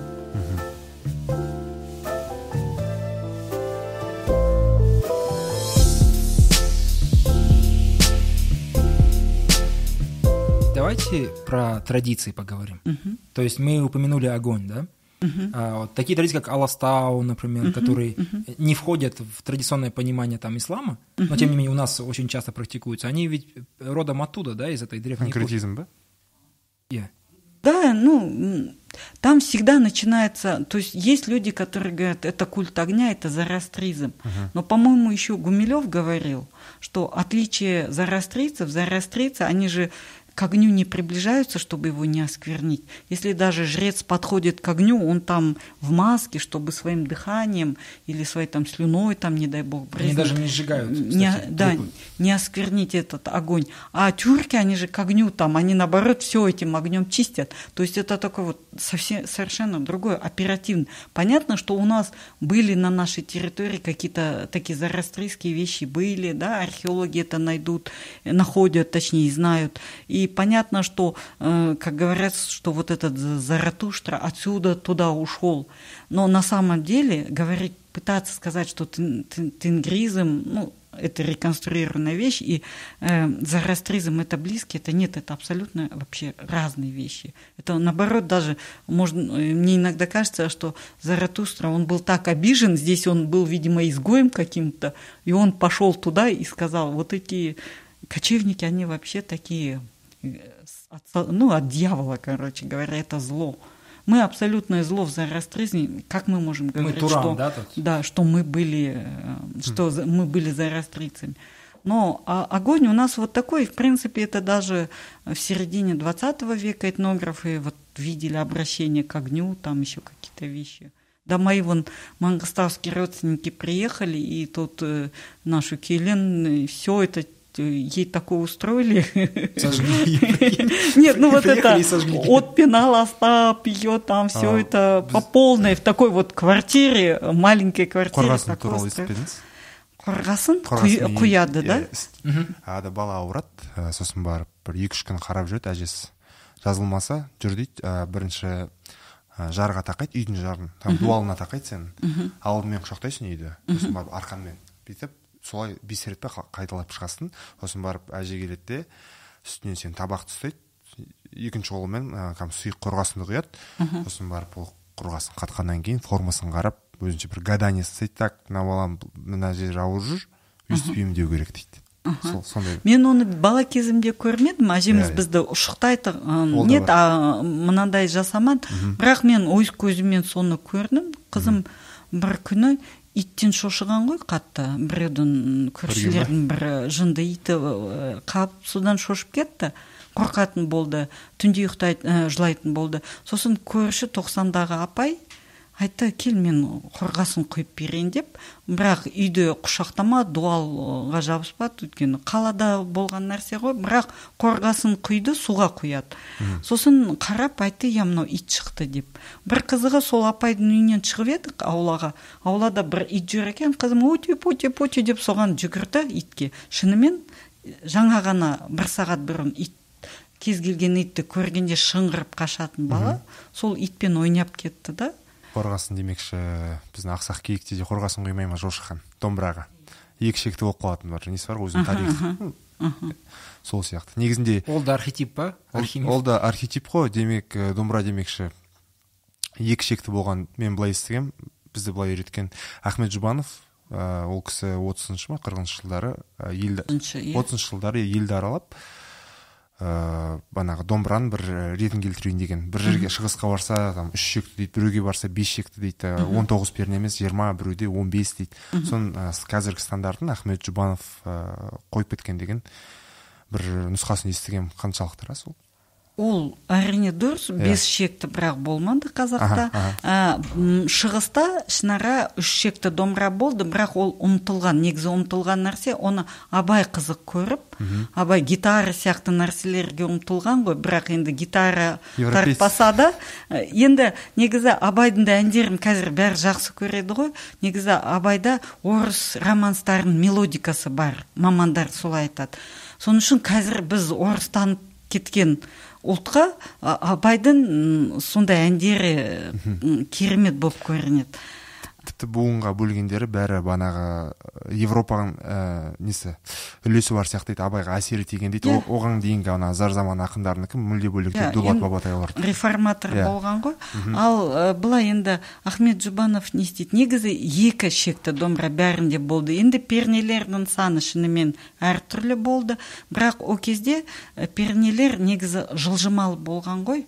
A: Давайте про традиции поговорим. Uh-huh. То есть мы упомянули огонь, да? Uh-huh. А, вот такие традиции, как Аластау, например, uh-huh. которые uh-huh. не входят в традиционное понимание там ислама, uh-huh. но тем не менее у нас очень часто практикуются. Они ведь родом оттуда, да, из этой древней эпохи.
C: Конкретизм, да?
B: Yeah. Да, ну, там всегда начинается... То есть есть люди, которые говорят, это культ огня, это зороастризм. Uh-huh. Но, по-моему, еще Гумилев говорил, что отличие зороастрийцев, зороастрийцы, они же к огню не приближаются, чтобы его не осквернить. Если даже жрец подходит к огню, он там в маске, чтобы своим дыханием или своей там слюной, там, не дай бог,
A: брызнуть. Они даже не сжигают, кстати,
B: не, да, не осквернить этот огонь. А тюрки, они же к огню там, они наоборот все этим огнем чистят. То есть это такое вот совсем, совершенно другое, оперативно. Понятно, что у нас были на нашей территории какие-то такие зороастрийские вещи были, да, археологи это найдут, находят, точнее, знают. И И понятно, что, как говорят, что вот этот Заратуштра отсюда туда ушел. Но на самом деле говорить, пытаться сказать, что тенгризм, ну, это реконструированная вещь, и э, зороастризм это близкие, это нет, это абсолютно вообще разные вещи. Это наоборот даже, можно, мне иногда кажется, что Заратустра, он был так обижен, здесь он был, видимо, изгоем каким-то, и он пошел туда и сказал, вот эти кочевники, они вообще такие... От, ну, от дьявола, короче говоря, это зло. Мы абсолютное зло в зороастризме. Как мы можем говорить,
A: мы Туран,
B: что,
A: да, тут?
B: Да, что мы были, что mm. мы были зороастрийцами. Но а огонь у нас вот такой, в принципе, это даже в середине двадцатого века этнографы вот видели обращение к огню, там еще какие-то вещи. Да, мои вон мангостовские родственники приехали, и тут э, нашу Келен, все это ей такое устроили.
A: Сожгли.
B: Нет, ну вот это от пенала Остап, ее там все это по полной в такой вот квартире, маленькой квартире.
C: Қорғасын туралы естіпедіңіз?
B: Қорғасын? Құяды, да?
C: Ада бала ауырады, сосын барып бір екі-үш күн қарап жүреді, әжесі жазылмаса жүр дейді, бірінші жарға тақайды, үйдің жарын, там дуалына тақайды сен, алдымен құшақтайсың үйді, сосын барып арқанмен бүйтіп солай бес рет қайталап шығасың, сосын барып әже келеді де үстінен сен табақты ұстайды, екінші қолымен сұйық қорғасынды құяды, сосын барып ол қорғасын қатқаннан кейін формасын қарап өзінше бір гадание істейді, так мына балам мына жер ауыр жүр, өйстіп емдеу керек дейді.
B: Мен оны бала кезімде көрмедім, әжеміз бізді ұшықтайды, нет, мынандай жасамады, бірақ мен өз көзіммен соны көрдім. Қызым бір күні иттен шошыған ғой қатты, біреудің көршілердің бір жынды иті қап, содан шошып кетті, қорқатын болды, түнде ұйықтайтын, жылайтын болды. Сосын көрші тоқсандағы апай айтты, кел мен қорғасын құйып берейін деп, бірақ үйде құшақтама, дуалға жабыспады, өйткені қалада болған нәрсе ғой, бірақ қорғасын құйды, суға құяды. Сосын қарап айтты, я мынау ит шықты деп. Бір қызығы сол апайдың үйінен шығып едік аулаға. Аулада бір ит жүр екен, қызым өте, өте, өте деп соған жүгірді итке. Шынымен жаңа ғана бір сағат бұрын ит кез келген итті көргенде шыңғырып қашатын бала, сол итпен ойнап кетті да.
C: Қорғасын демекші, біздің ақсақ киікте де қорғасын құймай ма Жошы хан домбыраға. Екі шекті болып қалатын бар, несі бар, өзінің тарихы. Сол сияқты. Негізінде
A: ол да архетип па?
C: Ол да архетип қой, демек домбыра демекші. Екі шекті болған, мен былай естігем, бізді былай үйреткен Ахмет Жұбанов, ол кісі отызыншы ма, қырқыншы жылдары отызыншы жылдары елді аралап, банағы домбыраның бір ретін келтірейін деген. Бір жерге шығысқа барса, үш шекті дейді, біреуге барса бес шекті дейді, он тоғыз перне емес, жиырма, біреуде он бес дейді. Сон қазіргі стандартын Ахмет Жұбанов қойып кеткен деген бір нұсқасын естігем. Қаншалықты рас ол?
B: Ол әрине дұрыс, бес шекті бірақ болмады қазақта. Шығыста ішінара үш шекті домбыра болды, бірақ ол ұмытылған, негізі ұмытылған нәрсе, оны Абай қызық көріп, Абай гитара сияқты нәрселерге ұмытылған ғой, бірақ енді гитара тартпаса да, енді негізі Абайдың да әндерін қазір бәрі жақсы көреді ғой, негізі Абайда орыс романстарының мелодикасы бар, мамандар солай айтады. Соның үшін қазір біз орыстанып кеткен ұлтқа Абайдың сондай әндері керемет болып көрінеді.
C: Тіпті буынға бөлгендері бәрі банағы Европаның несі үлесі бар сияқты дейді, Абайға әсері тиген дейді. Оған дейінгі ана зар заман ақындарынікі мүлде бөлек дейді, Дулат Бабатай олар.
B: Реформатор болған ғой. Ал былай енді Ахмет Жұбанов не істейді? Негізі екі шекті домбыра бәрінде болды. Енді пернелердің саны шынымен әртүрлі болды. Бірақ о кезде пернелер негізі жылжымалы болған ғой.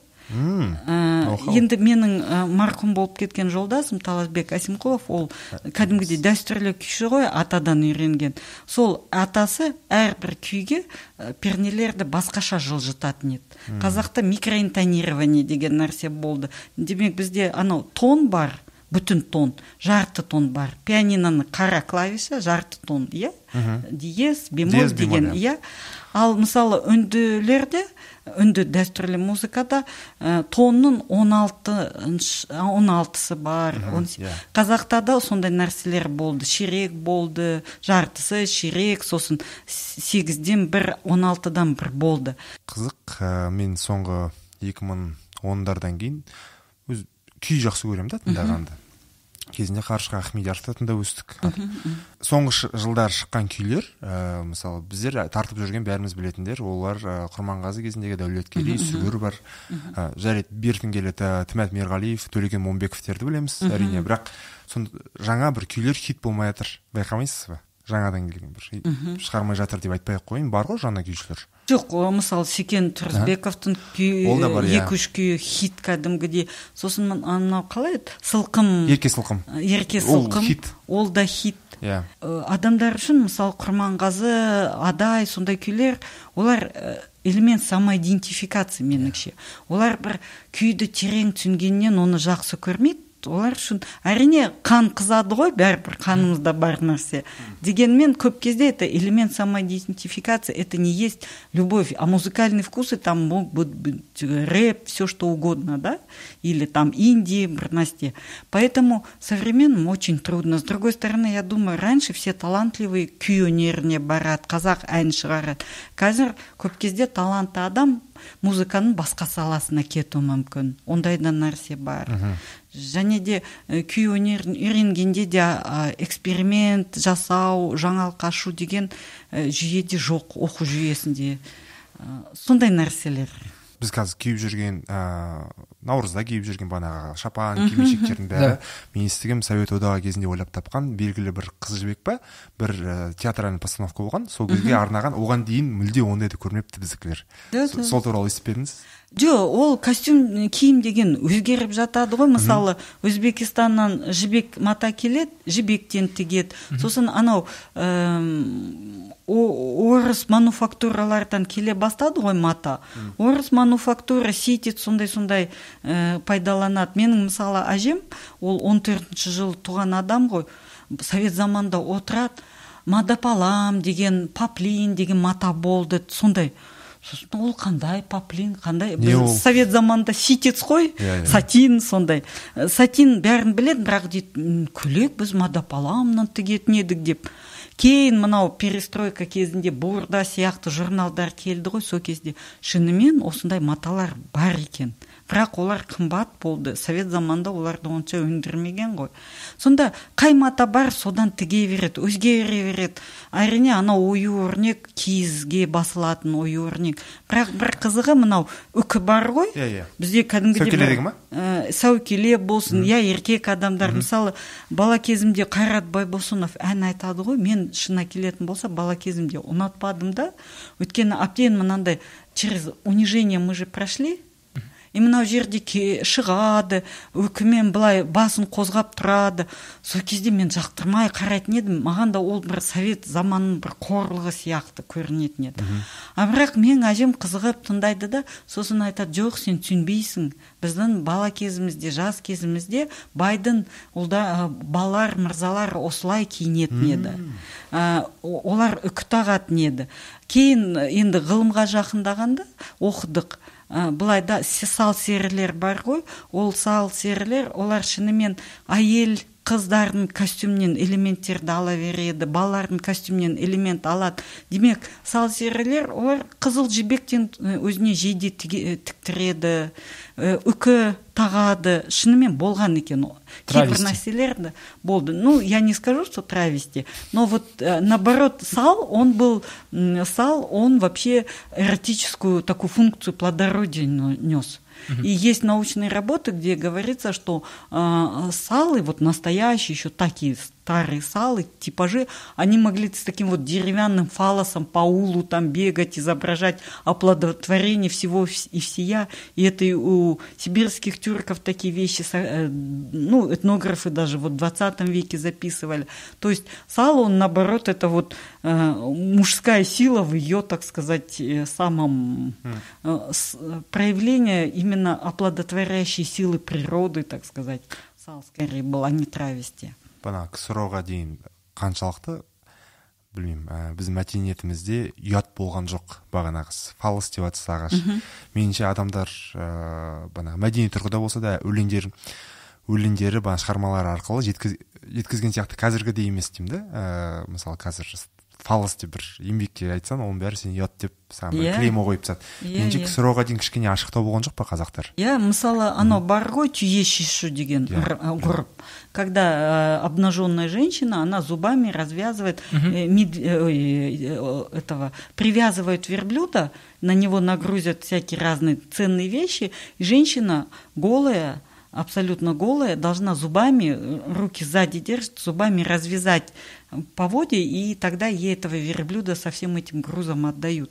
B: Енді менің марқұм болып кеткен жолдасым Таласбек Әсімқұлов, ол кәдімгідей дәстүрлі күйші ғой, атадан үйренген. Сол атасы әрбір күйге пернелерді басқаша жылжытатын еді. Қазақта микроинтонирование деген нәрсе болды. Демек бізде анау тон бар, бүтін тон, жарты тон бар. Пианиноның қара клавиша жарты тон, иә? Диез, бемоль деген, иә? Ал мысалы үнділерде, үнді дәстүрлі музыкада тонның он алтысы бар. Қазақта да сондай нәрселер болды. Ширек болды, жартысы, ширек, сосын сегізден бір, он алтыдан бір болды.
C: Қызық, мен соңғы екі мың ондардан кейін күй жақсы көрем да тыңдағанды. Кезінде Қаршыға Ахмедияровты тыңдап өстік. Соңғы жылдар шыққан күйлер, мысалы біздер тартып жүрген бәріміз білетіндер, олар Құрманғазы кезіндегі Дәулеткерей, Сүгір бар, Жарет Бертінгелет, Тімәт Мерғалиев, Төлеген Момбековтерді білеміз, әрине, бірақ жаңа бір күйлер хит болмай жатыр, байқамайсыз ба? Жаңадан келген бір шығармай жатыр деп айтпай қойын, бар ғой жаңа күйшілер?
B: Жоқ, мысалы Секен Тұрысбековтың күйі, екі-үш күйі хит кәдімгідей. Сосын анау қалай еді? Сылқым.
C: Ерке Сылқым.
B: Ерке Сылқым. Ол да хит. Адамдар үшін, мысалы Құрманғазы, Адай, сондай күйлер, олар элемент самоидентификация меніңше. Олар бір күйді терең түсінгеннен оны жақсы көрмейді. Олар үшін әрине қан қызады ғой, бәрібір қанымызда бар нәрсе. Дегенмен көп кезде это элемент самоидентификации, это не есть любовь, а музыкальные вкусы там могут быть рэп, все что угодно, да, или там инди, брnasте. Поэтому современным очень трудно. С другой стороны, я думаю, раньше все талантливые күй өнеріне барады, қазақ ән шығарады. Қазір көп кезде талантты адам музыканың басқа саласына кетуі мүмкін. Ондайда нәрсе бар. Және де күй өнерін үйренгенде де эксперимент жасау, жаңалық ашу деген жүйеде жоқ, оқу жүйесінде. Сондай нәрселер.
C: Біз қазір киіп жүрген, наурызда киіп жүрген банаға шапан, кимешектердің бәрі, мен естігем Совет одағы кезінде ойлап тапқан белгілі бір қыз жібек па, бір театральный постановка болған, сол кезге арнаған, оған дейін мүлде ондайды көрмепті біздікілер. Сол туралы естіп едіңіз?
B: Жо, ол костюм киім деген өзгеріп жатады ғой. Мысалы, Өзбекистаннан жібек мата келеді, жібектен тігеді. Сосын анау орыс мануфактуралардан келе бастады ғой мата. Орыс мануфактура сетит сондай-сондай ә, пайдаланады. Менің мысалы әжем, ол он төртінші жылы туған адам ғой, совет заманда отырады, мадапалам деген, паплин деген мата болды, сондай. Сосын ол қандай паплин, қандай, біз совет заманда ситец қой, yeah, yeah. сатин сондай. Сатин бәрін біледі, бірақ дейді, күлек біз мадапаламнан тігетін едік деп. Кейін мынау перестройка кезінде Бурда сияқты журналдар келді ғой, сол кезде шынымен осындай маталар бар екен. Бірақ олар қымбат болды. Совет заманда оларды онша өндірмеген ғой. Сонда қай мата бар, содан тіге береді, өзгере береді. Әрине, ана ою өрнек, киізге басылатын ою өрнек. Бірақ бір қызығы мынау үкі бар ғой.
C: Yeah, yeah.
B: Бізде кәдімгідей
C: сәукеле деген ма?
B: Ә, сәукеле болсын, я mm. еркек адамдар. Mm-hmm. Мысалы, бала кезімде Қайрат Байбосынов ән айтады ғой. Мен шына келетін болса, бала кезімде ұнатпадым да. Өйткені әбден мынандай через унижение мы же прошли. И мынау жерде шығады, өкімен былай басын қозғап тұрады. Сол кезде мен жақтырмай қарайтын едім. Маған да ол бір совет заманының бір қорлығы сияқты көрінетін еді. А бірақ мен әжем қызығып тыңдайды да, сосын айтады, жоқ, сен түсінбейсің. Біздің бала кезімізде, жас кезімізде байдың олда балалар, мырзалар осылай киінетін еді. А, олар үкі тағатын еді. Кейін енді ғылымға жақындағанда оқыдық. Былайда сал серілер бар ғой, ол сал серілер, олар шынымен әйел қыздардың костюмнен элементтерді ала береді, балалардың костюмнен элемент алады. Демек, сал серілер, олар қызыл жібектен өзіне жейде тіктіреді, үкі тағады, шынымен болған екен. Кейбір нәрселерді болды. Ну, я не скажу, что травести, но вот наоборот, сал, он был, сал, он вообще эротическую такую функцию плодородия нес. И есть научные работы, где говорится, что э, салы, вот настоящие, еще такие старые салы, типажи, они могли с таким вот деревянным фалосом по улу там бегать, изображать оплодотворение всего и всея. И это и у сибирских тюрков такие вещи, э, ну, этнографы даже вот в двадцатом веке записывали. То есть сало, он, наоборот, это вот э, мужская сила в ее, так сказать, самом э, с, проявление именно оплодотворяющей силы природы, так сказать. Сал скорее был, а не травести.
C: Бана ксроға дейін қаншалықты, білмеймін, ә, біз мәдениетімізде ұят болған жоқ бағанағыз. Фалос деп атыс ағаш. Меніңше адамдар ә, бана мәдени тұрғыда болса да өлеңдер өлеңдері бана шығармалар арқылы жеткіз, жеткізген сияқты қазіргідей емес деймін да. Ә, мысалы қазір фалос деп бір еңбекке айтсаң, оның бәрі сен ұят деп саған yeah. клеймо қойып тастады. Yeah, меніңше yeah. ксроға дейін кішкене ашықтау болған жоқ па қазақтар?
B: Иә, yeah, мысалы, анау бар ғой түйе шишу деген ғұрып. Когда э, обнаженная женщина, она зубами развязывает, э, мид, э, этого, привязывает верблюда, на него нагрузят всякие разные ценные вещи, и женщина голая, абсолютно голая, должна зубами, руки сзади держит, зубами развязать поводья, и тогда ей этого верблюда со всем этим грузом отдают.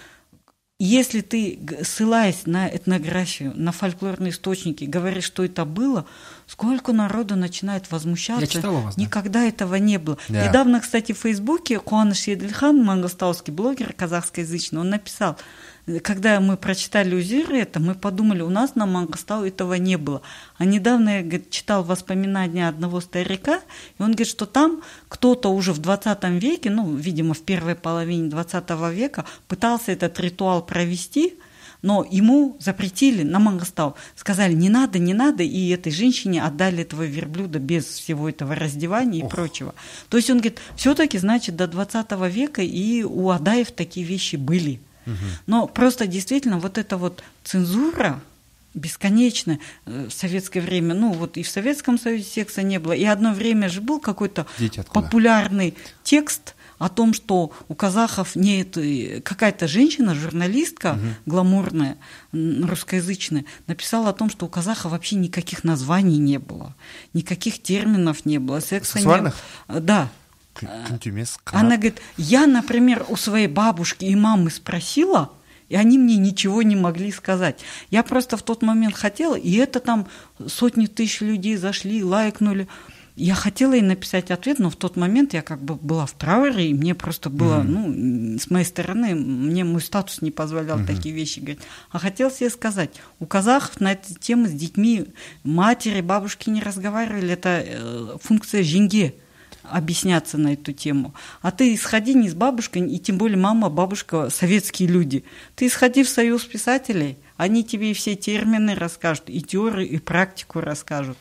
B: Если ты, ссылаясь на этнографию, на фольклорные источники, говоришь, что это было, сколько народу начинает возмущаться.
A: Я читала вас, да?
B: Никогда этого не было.
C: Yeah.
B: Недавно, кстати, в Фейсбуке Куаныш Едельхан, мангостауский блогер казахскоязычный, он написал, когда мы прочитали Узиры это, мы подумали, у нас на Мангостау этого не было. А недавно я, говорит, читал воспоминания одного старика, и он говорит, что там кто-то уже в двадцатом веке, ну, видимо, в первой половине двадцатого века, пытался этот ритуал провести, но ему запретили на Мангостау. Сказали, не надо, не надо, и этой женщине отдали этого верблюда без всего этого раздевания и Ох. прочего. То есть он говорит, все-таки, значит, до двадцатого века и у адаев такие вещи были. Но просто действительно вот эта вот цензура бесконечная в советское время, ну вот и в Советском Союзе секса не было, и одно время же был какой-то популярный текст о том, что у казахов нет, какая-то женщина, журналистка угу. гламурная, русскоязычная, написала о том, что у казахов вообще никаких названий не было, никаких терминов не было. Секса
C: сексуальных?
B: Не... Да.
C: Күнтемес,
B: Она говорит, я, например, у своей бабушки и мамы спросила, и они мне ничего не могли сказать. Я просто в тот момент хотела, и это там сотни тысяч людей зашли, лайкнули. я хотела ей написать ответ, но в тот момент я как бы была в трауре, и мне просто было, mm-hmm. ну, с моей стороны, мне мой статус не позволял mm-hmm. такие вещи говорить. А хотелось ей сказать, у казахов на эту тему с детьми матери, бабушки не разговаривали, это э, функция жинге объясняться на эту тему. А ты сходи не с бабушкой, и тем более мама, бабушка, советские люди. Ты сходи в союз писателей, они тебе все термины расскажут, и теорию, и практику расскажут.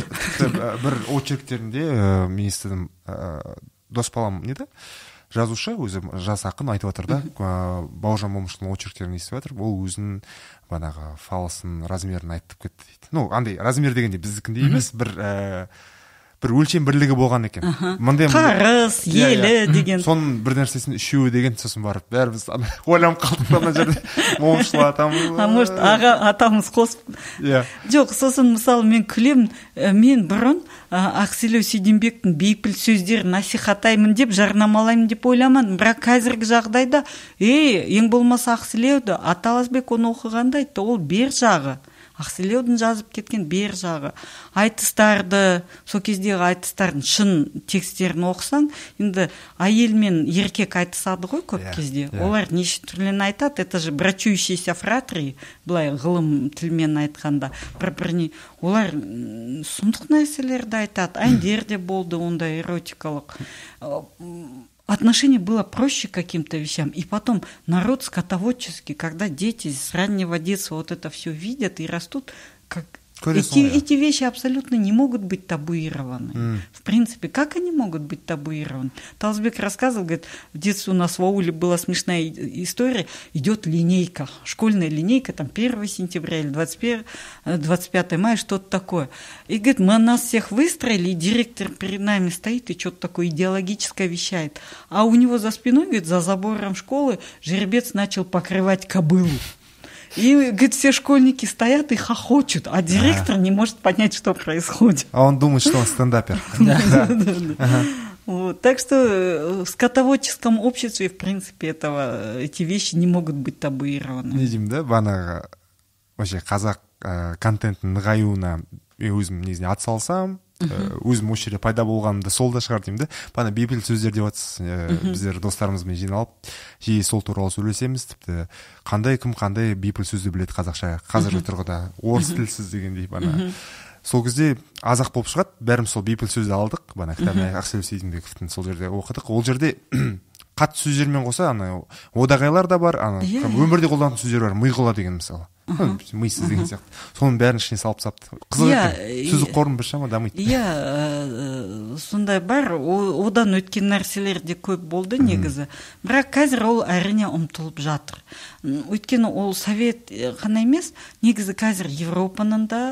C: Бір очерктерінде мен естідім, дос балам не да? Жазушы, өзі жас ақын айтып отыр да, Бауыржан Момышұлының очерктерін естіп отыр, ол өзінің банағы фалсын, размерін айтып кетті дейді. Ну, андай размер дегенде біздікіндей емес, бір бір өлшем бірлігі болған екен.
B: Қарыс, елі деген.
C: Соның бір нәрсесін үшеуі деген, сосын барып, бәріміз ойланып қалдық ана жерде. Момышұлы атамыз.
B: А может, аға атамыз қосып. Жоқ, сосын мысалы мен күлем, мен бұрын Ақселеу Сейденбектің бейпіл сөздерін насихаттаймын деп, жарнамалаймын деп ойламадым. Бірақ қазіргі жағдайда, ей, ең болмаса Ақселеуді, Аталасбек оны оқығанда айтты, ол бер жағы. Ақселеудің жазып кеткен бер жағы. Айтыстарды, сол кездегі айтыстардың шын текстерін оқысаң, енді әйел мен еркек айтысады ғой көп кезде. Олар неше түрлерін айтады, это же брачующиеся фратрии, былай ғылым тілмен айтқанда, бір-біріне. Олар сұмдық нәрселерді айтады, әндер де болды ондай эротикалық. Отношение было проще к каким-то вещам. И потом народ скотоводческий, когда дети с раннего детства вот это все видят и растут, как эти, эти вещи абсолютно не могут быть табуированы. Mm. В принципе, как они могут быть табуированы? Таласбек рассказывал, говорит, в детстве у нас в ауле была смешная история, идет линейка, школьная линейка, там первого сентября или двадцать пятого мая, что-то такое. И говорит, мы нас всех выстроили, и директор перед нами стоит и что-то такое идеологическое вещает. А у него за спиной, говорит, за забором школы жеребец начал покрывать кобылу. И, говорит, все школьники стоят и хохочут, а директор не может понять, что происходит.
C: А он думает, что он стендапер.
B: Так что в скотоводческом обществе, в принципе, этого, эти вещи не могут быть табуированы.
C: Видим, да, бағанағы вообще қазақ контенттің нығаюына өзім негізінде атсалсам, өзім осы жерде пайда болғанымда сол да шығар деймін да. Бана бейпіл сөздер деп жатсыз, біздер достарымызбен жиналып жиі сол туралы сөйлесеміз, тіпті қандай кім қандай бейпіл сөзді біледі қазақша қазіргі тұрғыда, орыс тілсіз дегендей. Бана сол кезде азақ болып шығады, бәріміз сол бейпіл сөзді алдық, бана кітабын Ақселеу Сейденбековтің сол жерде оқыдық. Ол жерде қатты сөздермен қоса ана одағайлар да бар, ана өмірде қолданатын сөздер бар, миғұла деген мысалы. Миссіз деген сияқты. Соның бәрін ішіне салып сапты. Қызық екен. Сөздік қорым біршама дамиды.
B: Иә, сондай бар. Одан өткен нәрселер де көп болды негізі. Бірақ қазір ол әрине ұмтылып жатыр. Өйткені ол совет қана емес, негізі қазір Европаның да,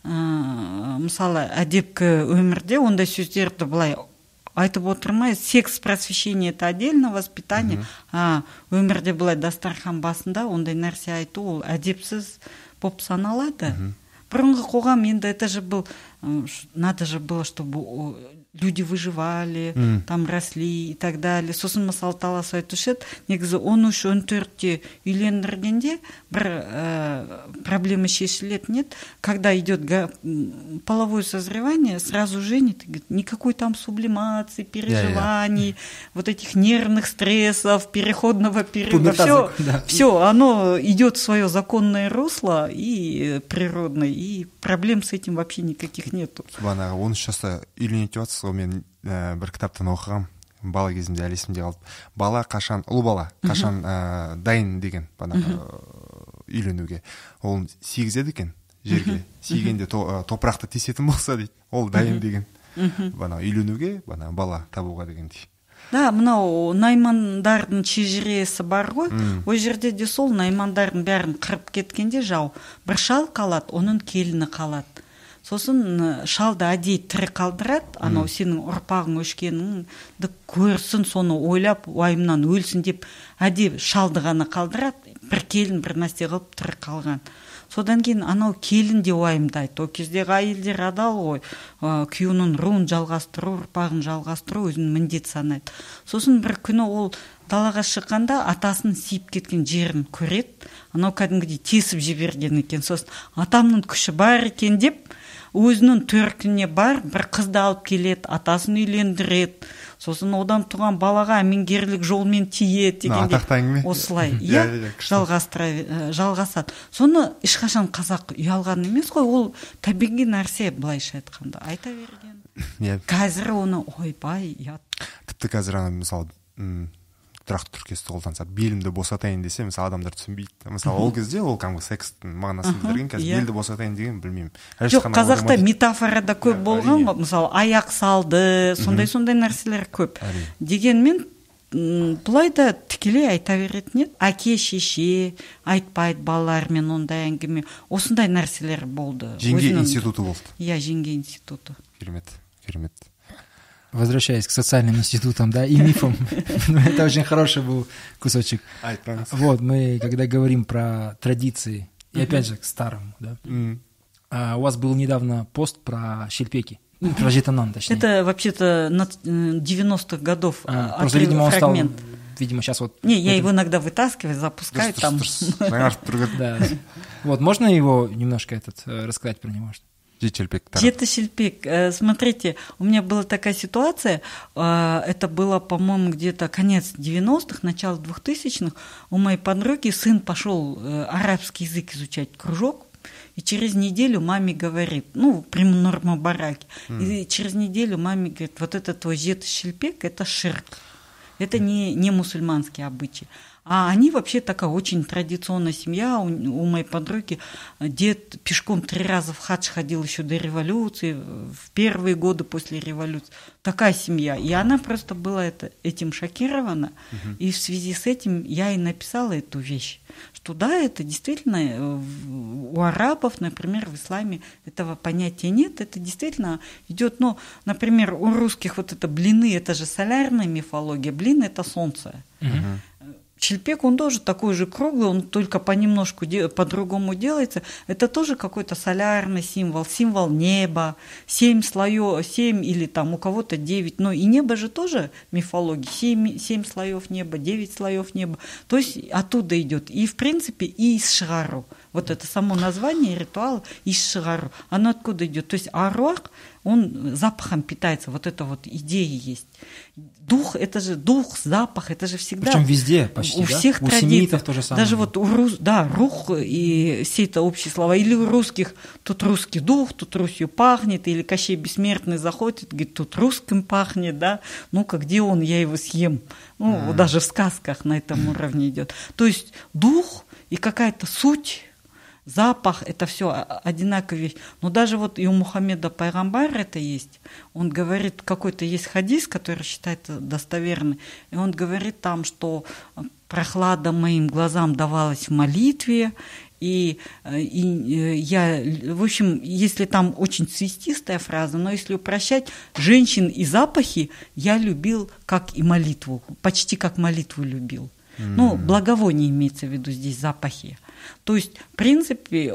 B: мысалы, әдепкі өмірде ондай сөздерді былай айтып отырмай, секс просвещение это отдельно, воспитание, а өмірде былай дастархан басында ондай нәрсе айту, ол әдепсіз болып саналады. Бұрынғы қоғам енді это же был, надо же было, чтобы люди выживали, mm. там росли и так далее. Сосын мысалы талас айтушы еді, негізі он үш он төртте үйлендіргенде бір ә, проблема шешілетін еді, когда идет половое созревание, сразу женит, никакой там сублимации, переживаний, yeah, yeah. вот этих нервных стрессов, переходного периода, все, да. все, оно идет в свое законное русло и природное, и проблем с этим вообще никаких нету.
C: Бана он сейчас үйленетін жатсыз, мен ә, бір кітаптан оқығам, бала кезімде әлі есімде қалды. Бала қашан, ұлы бала қашан ә, дайын деген бана үйленуге. Ол сигізеді екен жерге, сигенде то, топырақты тесетін болса дейді. Ол дайын деген бана үйленуге, бана бала табуға дегендей.
B: Да, мынау наймандардың шежіресі бар ғой, ол жерде де сол наймандардың бәрін қырып кеткенде жау, бір шал қалады, оның келіні қалады. Сосын шалды әдейі тірі қалдырады, анау сенің ұрпағың өшкеніңді көрсін, соны ойлап, уайымнан өлсін деп әдейі шалды ғана қалдырады, бір келін бір нәрсе қылып тірі қалған. Содан кейін анау келін де уайымдайды. О кездегі әйелдер адал ғой, күйеуінің руын жалғастыру, ұрпағын жалғастыру өзінің міндет санайды. Сосын бір күні ол далаға шыққанда атасының сиіп кеткен жерін көреді, анау кәдімгідей тесіп жіберген екен. Сосын атамның күші бар екен деп, өзінің төркініне бар, бір қызды алып келеді, атасын үйлендіреді, сосын одан туған балаға әмеңгерлік жолмен тиеді дегенде осылай иә жалғасады. Соны ешқашан қазақ ұялған емес қой, ол табиғи нәрсе, былайша айтқанда айта берген. Қазір оны ойбай ұят.
C: Тіпті қазір ана мысалы тұрақты тіркесті қолданса, белімді босатайын десе, мысалы адамдар түсінбейді. Мысалы ол кезде ол кәдімгі секстің мағынасын білдірген, қазір белді босатайын деген білмеймін.
B: Жоқ, қазақта метафорада көп болған, мысалы аяқ салды, сондай-сондай нәрселер көп. Дегенмен бұлай да тікелей айта беретін еді. Әке, шеше айтпайды балалармен ондай әңгіме. Осындай нәрселер болды.
C: Жеңге институты болды.
B: Иә, жеңге институты.
C: Керемет, керемет.
A: Возвращаясь к социальным институтам, да, и мифам, это очень хороший был кусочек. Вот, мы, когда говорим про традиции, и опять же к старому, да, у вас был недавно пост про щельпеки, про жетонан, точнее.
B: Это вообще-то девяностых годов
A: просто, видимо, он стал, видимо, сейчас вот...
B: Не, я его иногда вытаскиваю, запускаю там.
A: Вот, можно его немножко этот рассказать про него?
B: Жеті-шелпек. Смотрите, у меня была такая ситуация, это было, по-моему, где-то конец девяностых, начало двухтысячных. У моей подруги сын пошел арабский язык изучать, кружок, и через неделю маме говорит, ну, прямо норма бараки, и через неделю маме говорит, вот это твой жеті-шелпек, это ширк, это не, не мусульманский обычай. А они вообще такая очень традиционная семья. У, у моей подруги дед пешком три раза в хадж ходил еще до революции, в первые годы после революции. Такая семья. И она просто была это, этим шокирована. Uh-huh. И в связи с этим я и написала эту вещь. Что да, это действительно у арабов, например, в исламе этого понятия нет. Это действительно идет, ну, например, у русских вот это блины, это же солярная мифология. Блин – это солнце. Uh-huh. Щельпек, он тоже такой же круглый, он только понемножку по-другому делается. Это тоже какой-то солярный символ, символ неба, семь слоев, семь или там у кого-то девять. Но и небо же тоже мифология, семь, семь слоев неба, девять слоев неба. То есть оттуда идет. И в принципе и из Шигару. Вот это само название ритуала из Шигару. Оно откуда идет? То есть аруах, он запахом питается, вот это вот идея есть. Дух, это же дух, запах, это же всегда...
A: Причем везде почти,
B: у
A: да?
B: всех
A: у
B: традиций.
A: Семитов то же самое.
B: Даже вот у рус... да, рух и все это общие слова. Или у русских тут русский дух, тут Русью пахнет, или Кощей Бессмертный заходит, говорит, тут русским пахнет, да, ну-ка, где он, я его съем. Ну, mm. даже в сказках на этом уровне идет. То есть дух и какая-то суть, запах, это все одинаковая вещь. Но даже вот и у Мухаммеда Пайгамбар это есть. Он говорит, какой-то есть хадис, который считается достоверный. И он говорит там, что прохлада моим глазам давалась в молитве. И, и я, в общем, если там очень цветистая фраза, но если упрощать, женщин и запахи я любил как и молитву, почти как молитву любил. Mm. Ну, благовоние имеется в виду здесь, запахи. То есть, в принципе,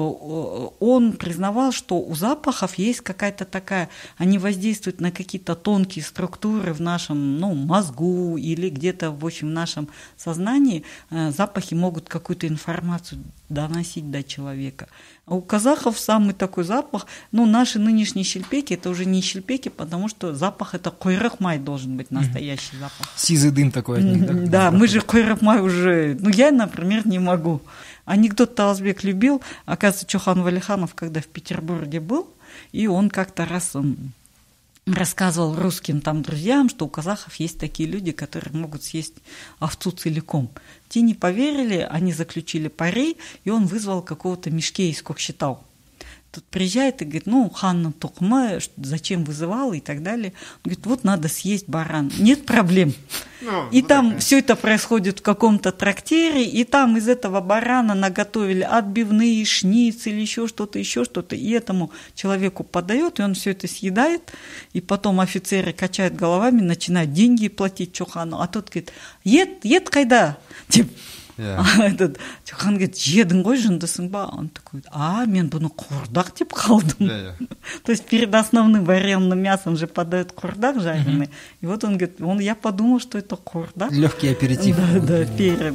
B: он признавал, что у запахов есть какая-то такая, они воздействуют на какие-то тонкие структуры в нашем, ну, мозгу или где-то, в общем, в нашем сознании. Запахи могут какую-то информацию доносить до человека. А у казахов самый такой запах, ну, наши нынешние щельпеки, это уже не щельпеки, потому что запах это койрах-май должен быть, настоящий mm-hmm. запах.
A: Сизый дым такой от них, да?
B: Да, мы же койрах-май уже, ну, я, например, не могу. Анекдот Таласбек любил, оказывается, Чохан Валиханов, когда в Петербурге был, и он как-то раз он рассказывал русским там друзьям, что у казахов есть такие люди, которые могут съесть овцу целиком. Те не поверили, они заключили пари, и он вызвал какого-то Мишкея из Кокшетау. Тут приезжает и говорит, ну, ханна тукма, зачем вызывал и так далее. Он говорит, вот надо съесть баран. Нет проблем. Ну, и там такая. Все это происходит в каком-то трактире, и там из этого барана наготовили отбивные, шницель, еще что-то, еще что-то. И этому человеку подает, и он все это съедает. И потом офицеры качают головами, начинают деньги платить Чохану. А тот говорит, ед, ед кайда? Типа, Yeah. А этот Чохан говорит, едің ғой, жындысың ба? Он такой, а, мен бұны құрдақ деп қалдым. Yeah, yeah. То есть перед основным вареным мясом же подают құрдақ жареный. Mm-hmm. И вот он говорит, он, я подумал, что это құрдақ.
A: Легкий аперитив.
B: Да, да, перед.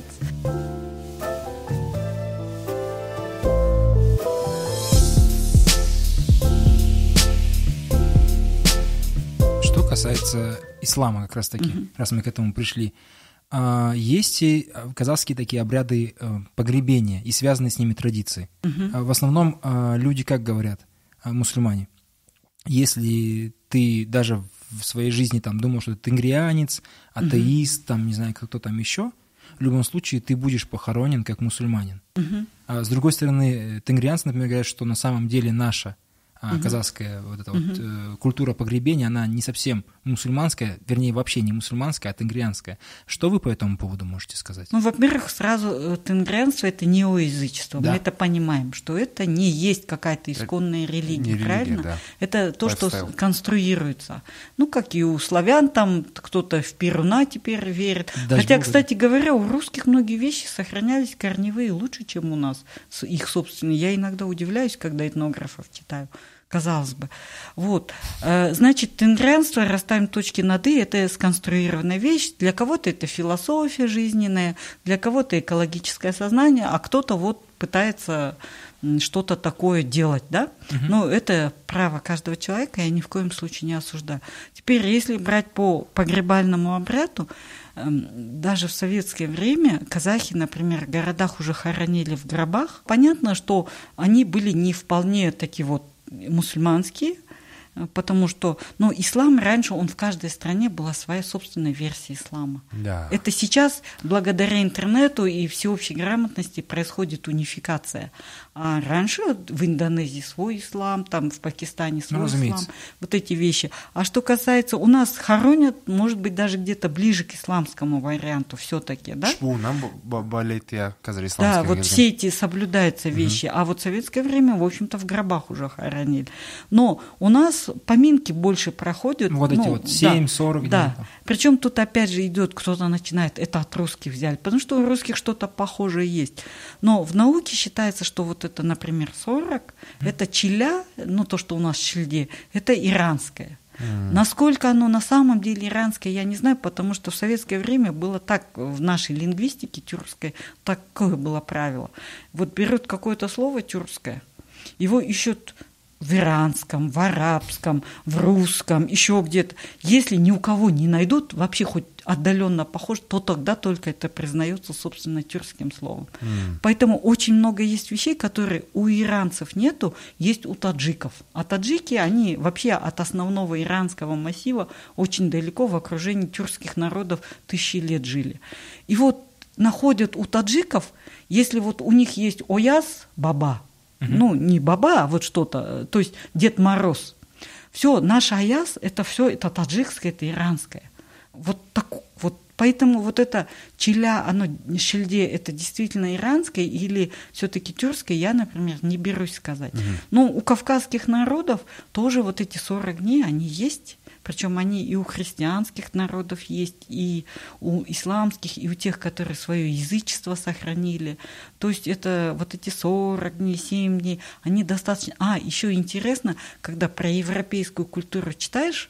A: касается ислама, как раз таки, угу. раз мы к этому пришли. Есть и казахские такие обряды погребения и связанные с ними традиции. Угу. В основном люди как говорят, мусульмане, если ты даже в своей жизни там думал, что ты тенгрианец, атеист, угу. там, не знаю, кто там еще, в любом случае ты будешь похоронен как мусульманин. Угу. А с другой стороны, тенгрианцы, например, говорят, что на самом деле наша Uh-huh. казахская вот эта uh-huh. вот э, культура погребения, она не совсем мусульманская, вернее, вообще не мусульманская, а тенгрианская. Что вы по этому поводу можете сказать?
B: Ну, во-первых, сразу тенгрианство – это неоязычество. Да. Мы это понимаем, что это не есть какая-то исконная это религия, религия, правильно? Да. Это то, Lifestyle. Что конструируется. Ну, как и у славян, там кто-то в Перуна теперь верит. Дай Хотя, Богу. Кстати говоря, у русских многие вещи сохранялись корневые лучше, чем у нас, их собственные. Я иногда удивляюсь, когда этнографов читаю. Казалось бы. Вот. Значит, тенгрианство, расставим точки над «и», это сконструированная вещь. Для кого-то это философия жизненная, для кого-то экологическое сознание, а кто-то вот пытается что-то такое делать, да? Угу. Ну, это право каждого человека, я ни в коем случае не осуждаю. Теперь, если брать по погребальному обряду, даже в советское время казахи, например, в городах уже хоронили в гробах. Понятно, что они были не вполне такие вот мусульманские, потому что, ну, ислам раньше, он в каждой стране была своя собственная версия ислама. Да. Это сейчас, благодаря интернету и всеобщей грамотности, происходит унификация. А раньше в Индонезии свой ислам, там в Пакистане свой ну, ислам, вот эти вещи. А что касается, у нас хоронят, может быть, даже где-то ближе к исламскому варианту все-таки, да? Да, вот все эти соблюдаются вещи. Угу. А вот в советское время, в общем-то, в гробах уже хоронили. Но у нас поминки больше проходят.
A: Вот ну, эти вот семь сорок.
B: Да. да. Причем тут опять же идет, кто-то начинает, это от русских взяли, потому что у русских что-то похожее есть. Но в науке считается, что вот это, например, сорок, mm. это чиля, ну то, что у нас в чильде, это иранское. Mm. Насколько оно на самом деле иранское, я не знаю, потому что в советское время было так, в нашей лингвистике тюркской, такое было правило. Вот берут какое-то слово тюркское, его ищут в иранском, в арабском, в русском, еще где-то. Если ни у кого не найдут, вообще хоть отдаленно похож, то тогда только это признается, собственно, тюркским словом. Mm. Поэтому очень много есть вещей, которые у иранцев нету, есть у таджиков. А таджики, они вообще от основного иранского массива очень далеко в окружении тюркских народов тысячи лет жили. И вот находят у таджиков, если вот у них есть ояз, баба, ну, не баба, а вот что-то, то есть Дед Мороз. Все, наш аяз, это все, это таджикское, это иранское. Вот так, вот поэтому вот это чиля, оно, шильде, это действительно иранское или все-таки тюркское, я, например, не берусь сказать. Угу. Но у кавказских народов тоже вот эти сорок дней, они есть. Причем они и у христианских народов есть, и у исламских, и у тех, которые свое язычество сохранили. То есть это вот эти сорок дней, семь дней, они достаточно... А, еще интересно, когда про европейскую культуру читаешь,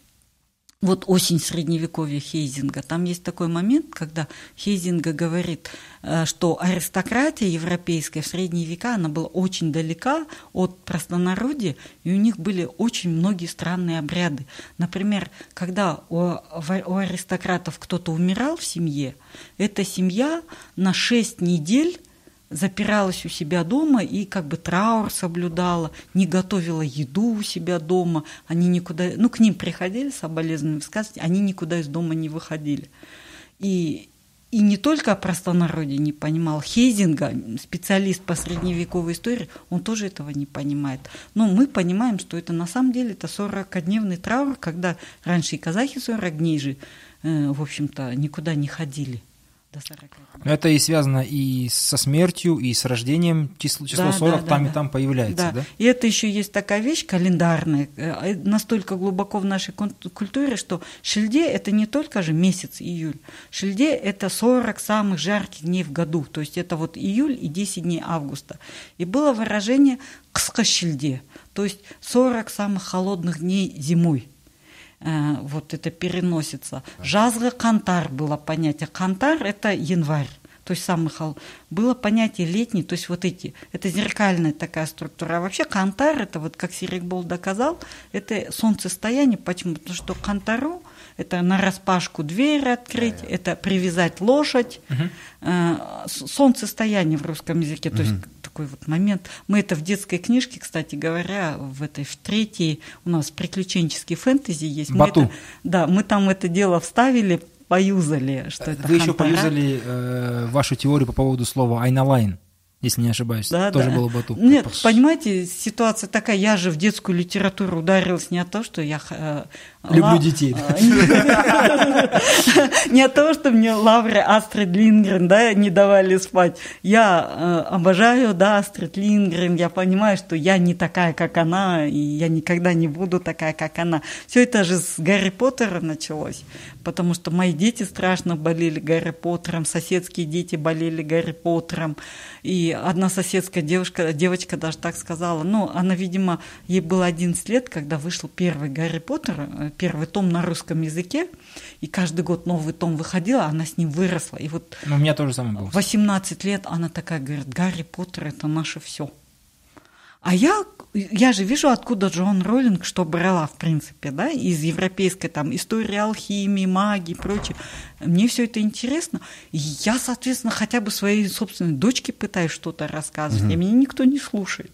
B: вот «Осень средневековья» Хейзинга, там есть такой момент, когда Хейзинга говорит, что аристократия европейская в средние века, она была очень далека от простонародья, и у них были очень многие странные обряды. Например, когда у, у аристократов кто-то умирал в семье, эта семья на шесть недель запиралась у себя дома и как бы траур соблюдала, не готовила еду у себя дома, они никуда, ну, к ним приходили соболезнования высказывать, они никуда из дома не выходили. И, и не только простонародье не понимал, Хейзинга, специалист по средневековой истории, он тоже этого не понимает. Но мы понимаем, что это на самом деле это сорокадневный траур, когда раньше и казахи сорок дней же, э, в общем-то, никуда не ходили.
A: Это и связано и со смертью, и с рождением, число, число да, сорок да, там да, и там появляется, да. да?
B: И это еще есть такая вещь календарная, настолько глубоко в нашей культуре, что шильде – это не только же месяц июль. Шильде – это сорок самых жарких дней в году, то есть это вот июль и десять дней августа. И было выражение «кысқа шильде», то есть сорок самых холодных дней зимой. Вот это переносится. Жазғы қантар было понятие. Қантар – это январь. то есть самый холодный. Было понятие летний, то есть вот эти, это зеркальная такая структура. А вообще кантар, это вот как Серикбол доказал, это солнцестояние. Почему? Потому что кантару это нараспашку дверь открыть, yeah, yeah. это привязать лошадь, uh-huh. солнцестояние в русском языке, то uh-huh. есть такой вот момент. Мы это в детской книжке, кстати говоря, в этой, в третьей у нас приключенческий фэнтези есть.
A: Бату.
B: Мы это, да, мы там это дело вставили, поюзали, что это
A: Вы
B: хантара.
A: еще поюзали э, вашу теорию по поводу слова «айналайн», если не ошибаюсь,
B: да,
A: тоже
B: да.
A: было бату.
B: Нет, понимаете, ситуация такая, я же в детскую литературу ударилась не от того, что я... Э,
A: Люблю
B: ла...
A: детей.
B: Не от того, что мне лавры Астрид Линдгрен, да, не давали спать. Я обожаю, да, Астрид Линдгрен, я понимаю, что я не такая, как она, и я никогда не буду такая, как она. Все это же с Гарри Поттера началось, потому что мои дети страшно болели Гарри Поттером, соседские дети болели Гарри Поттером, и одна соседская девушка, девочка даже так сказала, ну, она, видимо, ей было одиннадцать лет, когда вышел первый Гарри Поттер, первый том на русском языке, и каждый год новый том выходил, а она с ним выросла. И вот
A: ну, у меня тоже самое было.
B: восемнадцать лет она такая говорит, Гарри Поттер – это наше все. А я, я же вижу, откуда Джоан Роулинг что брала, в принципе, да, из европейской там истории алхимии, магии и прочее. Мне все это интересно. И я, соответственно, хотя бы своей собственной дочке пытаюсь что-то рассказывать, mm-hmm. и меня никто не слушает.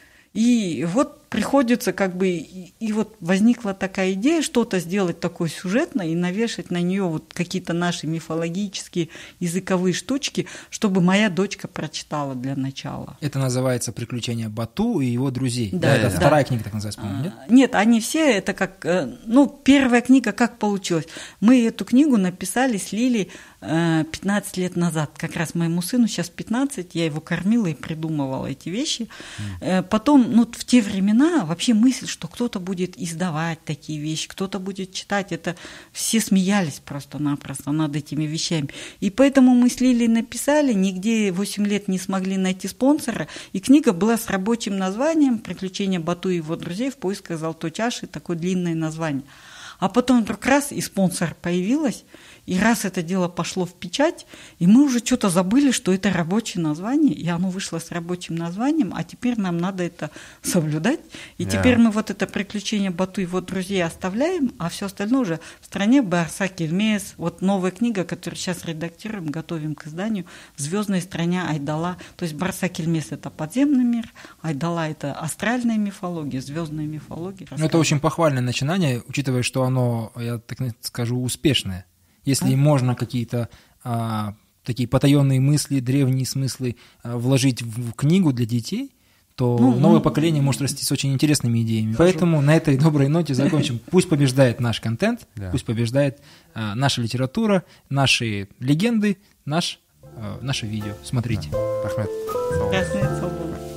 B: И вот приходится как бы, и, и вот возникла такая идея что-то сделать такое сюжетное и навешать на нее вот какие-то наши мифологические языковые штучки, чтобы моя дочка прочитала для начала.
A: Это называется «Приключения Бату и его друзей».
B: Да,
A: да, это
B: да.
A: вторая книга, так называется, по-моему, нет?
B: Нет, они все, это как, ну, первая книга как получилось. Мы эту книгу написали с Лилей пятнадцать лет назад. Как раз моему сыну сейчас пятнадцать, я его кормила и придумывала эти вещи. Mm. Потом, ну, в те времена вообще мысль, что кто-то будет издавать такие вещи, кто-то будет читать, это все смеялись просто-напросто над этими вещами. И поэтому мы с Лилей написали, нигде восемь лет не смогли найти спонсора, и книга была с рабочим названием «Приключения Бату и его друзей в поисках золотой чаши», такое длинное название. А потом вдруг раз, и спонсор появилась, и раз это дело пошло в печать, и мы уже что-то забыли, что это рабочее название, и оно вышло с рабочим названием, а теперь нам надо это соблюдать. И yeah. теперь мы вот это «Приключение Бату и его друзей» оставляем, а все остальное уже в стране Барсак Эльмес, вот новая книга, которую сейчас редактируем, готовим к изданию, «В звездной стране Айдала». То есть Барсак Эльмес – это подземный мир, Айдала – это астральная мифология, звездная мифология.
A: Ну, это очень похвальное начинание, учитывая, что оно, я так скажу, успешное. Если можно какие-то а, такие потаенные мысли, древние смыслы а, вложить в книгу для детей, то ну, новое ну, поколение может расти с очень интересными идеями. Хорошо. Поэтому на этой доброй ноте закончим. Пусть побеждает наш контент, да. пусть побеждает а, наша литература, наши легенды, наш, а, наше видео. Смотрите.
C: Рахмет.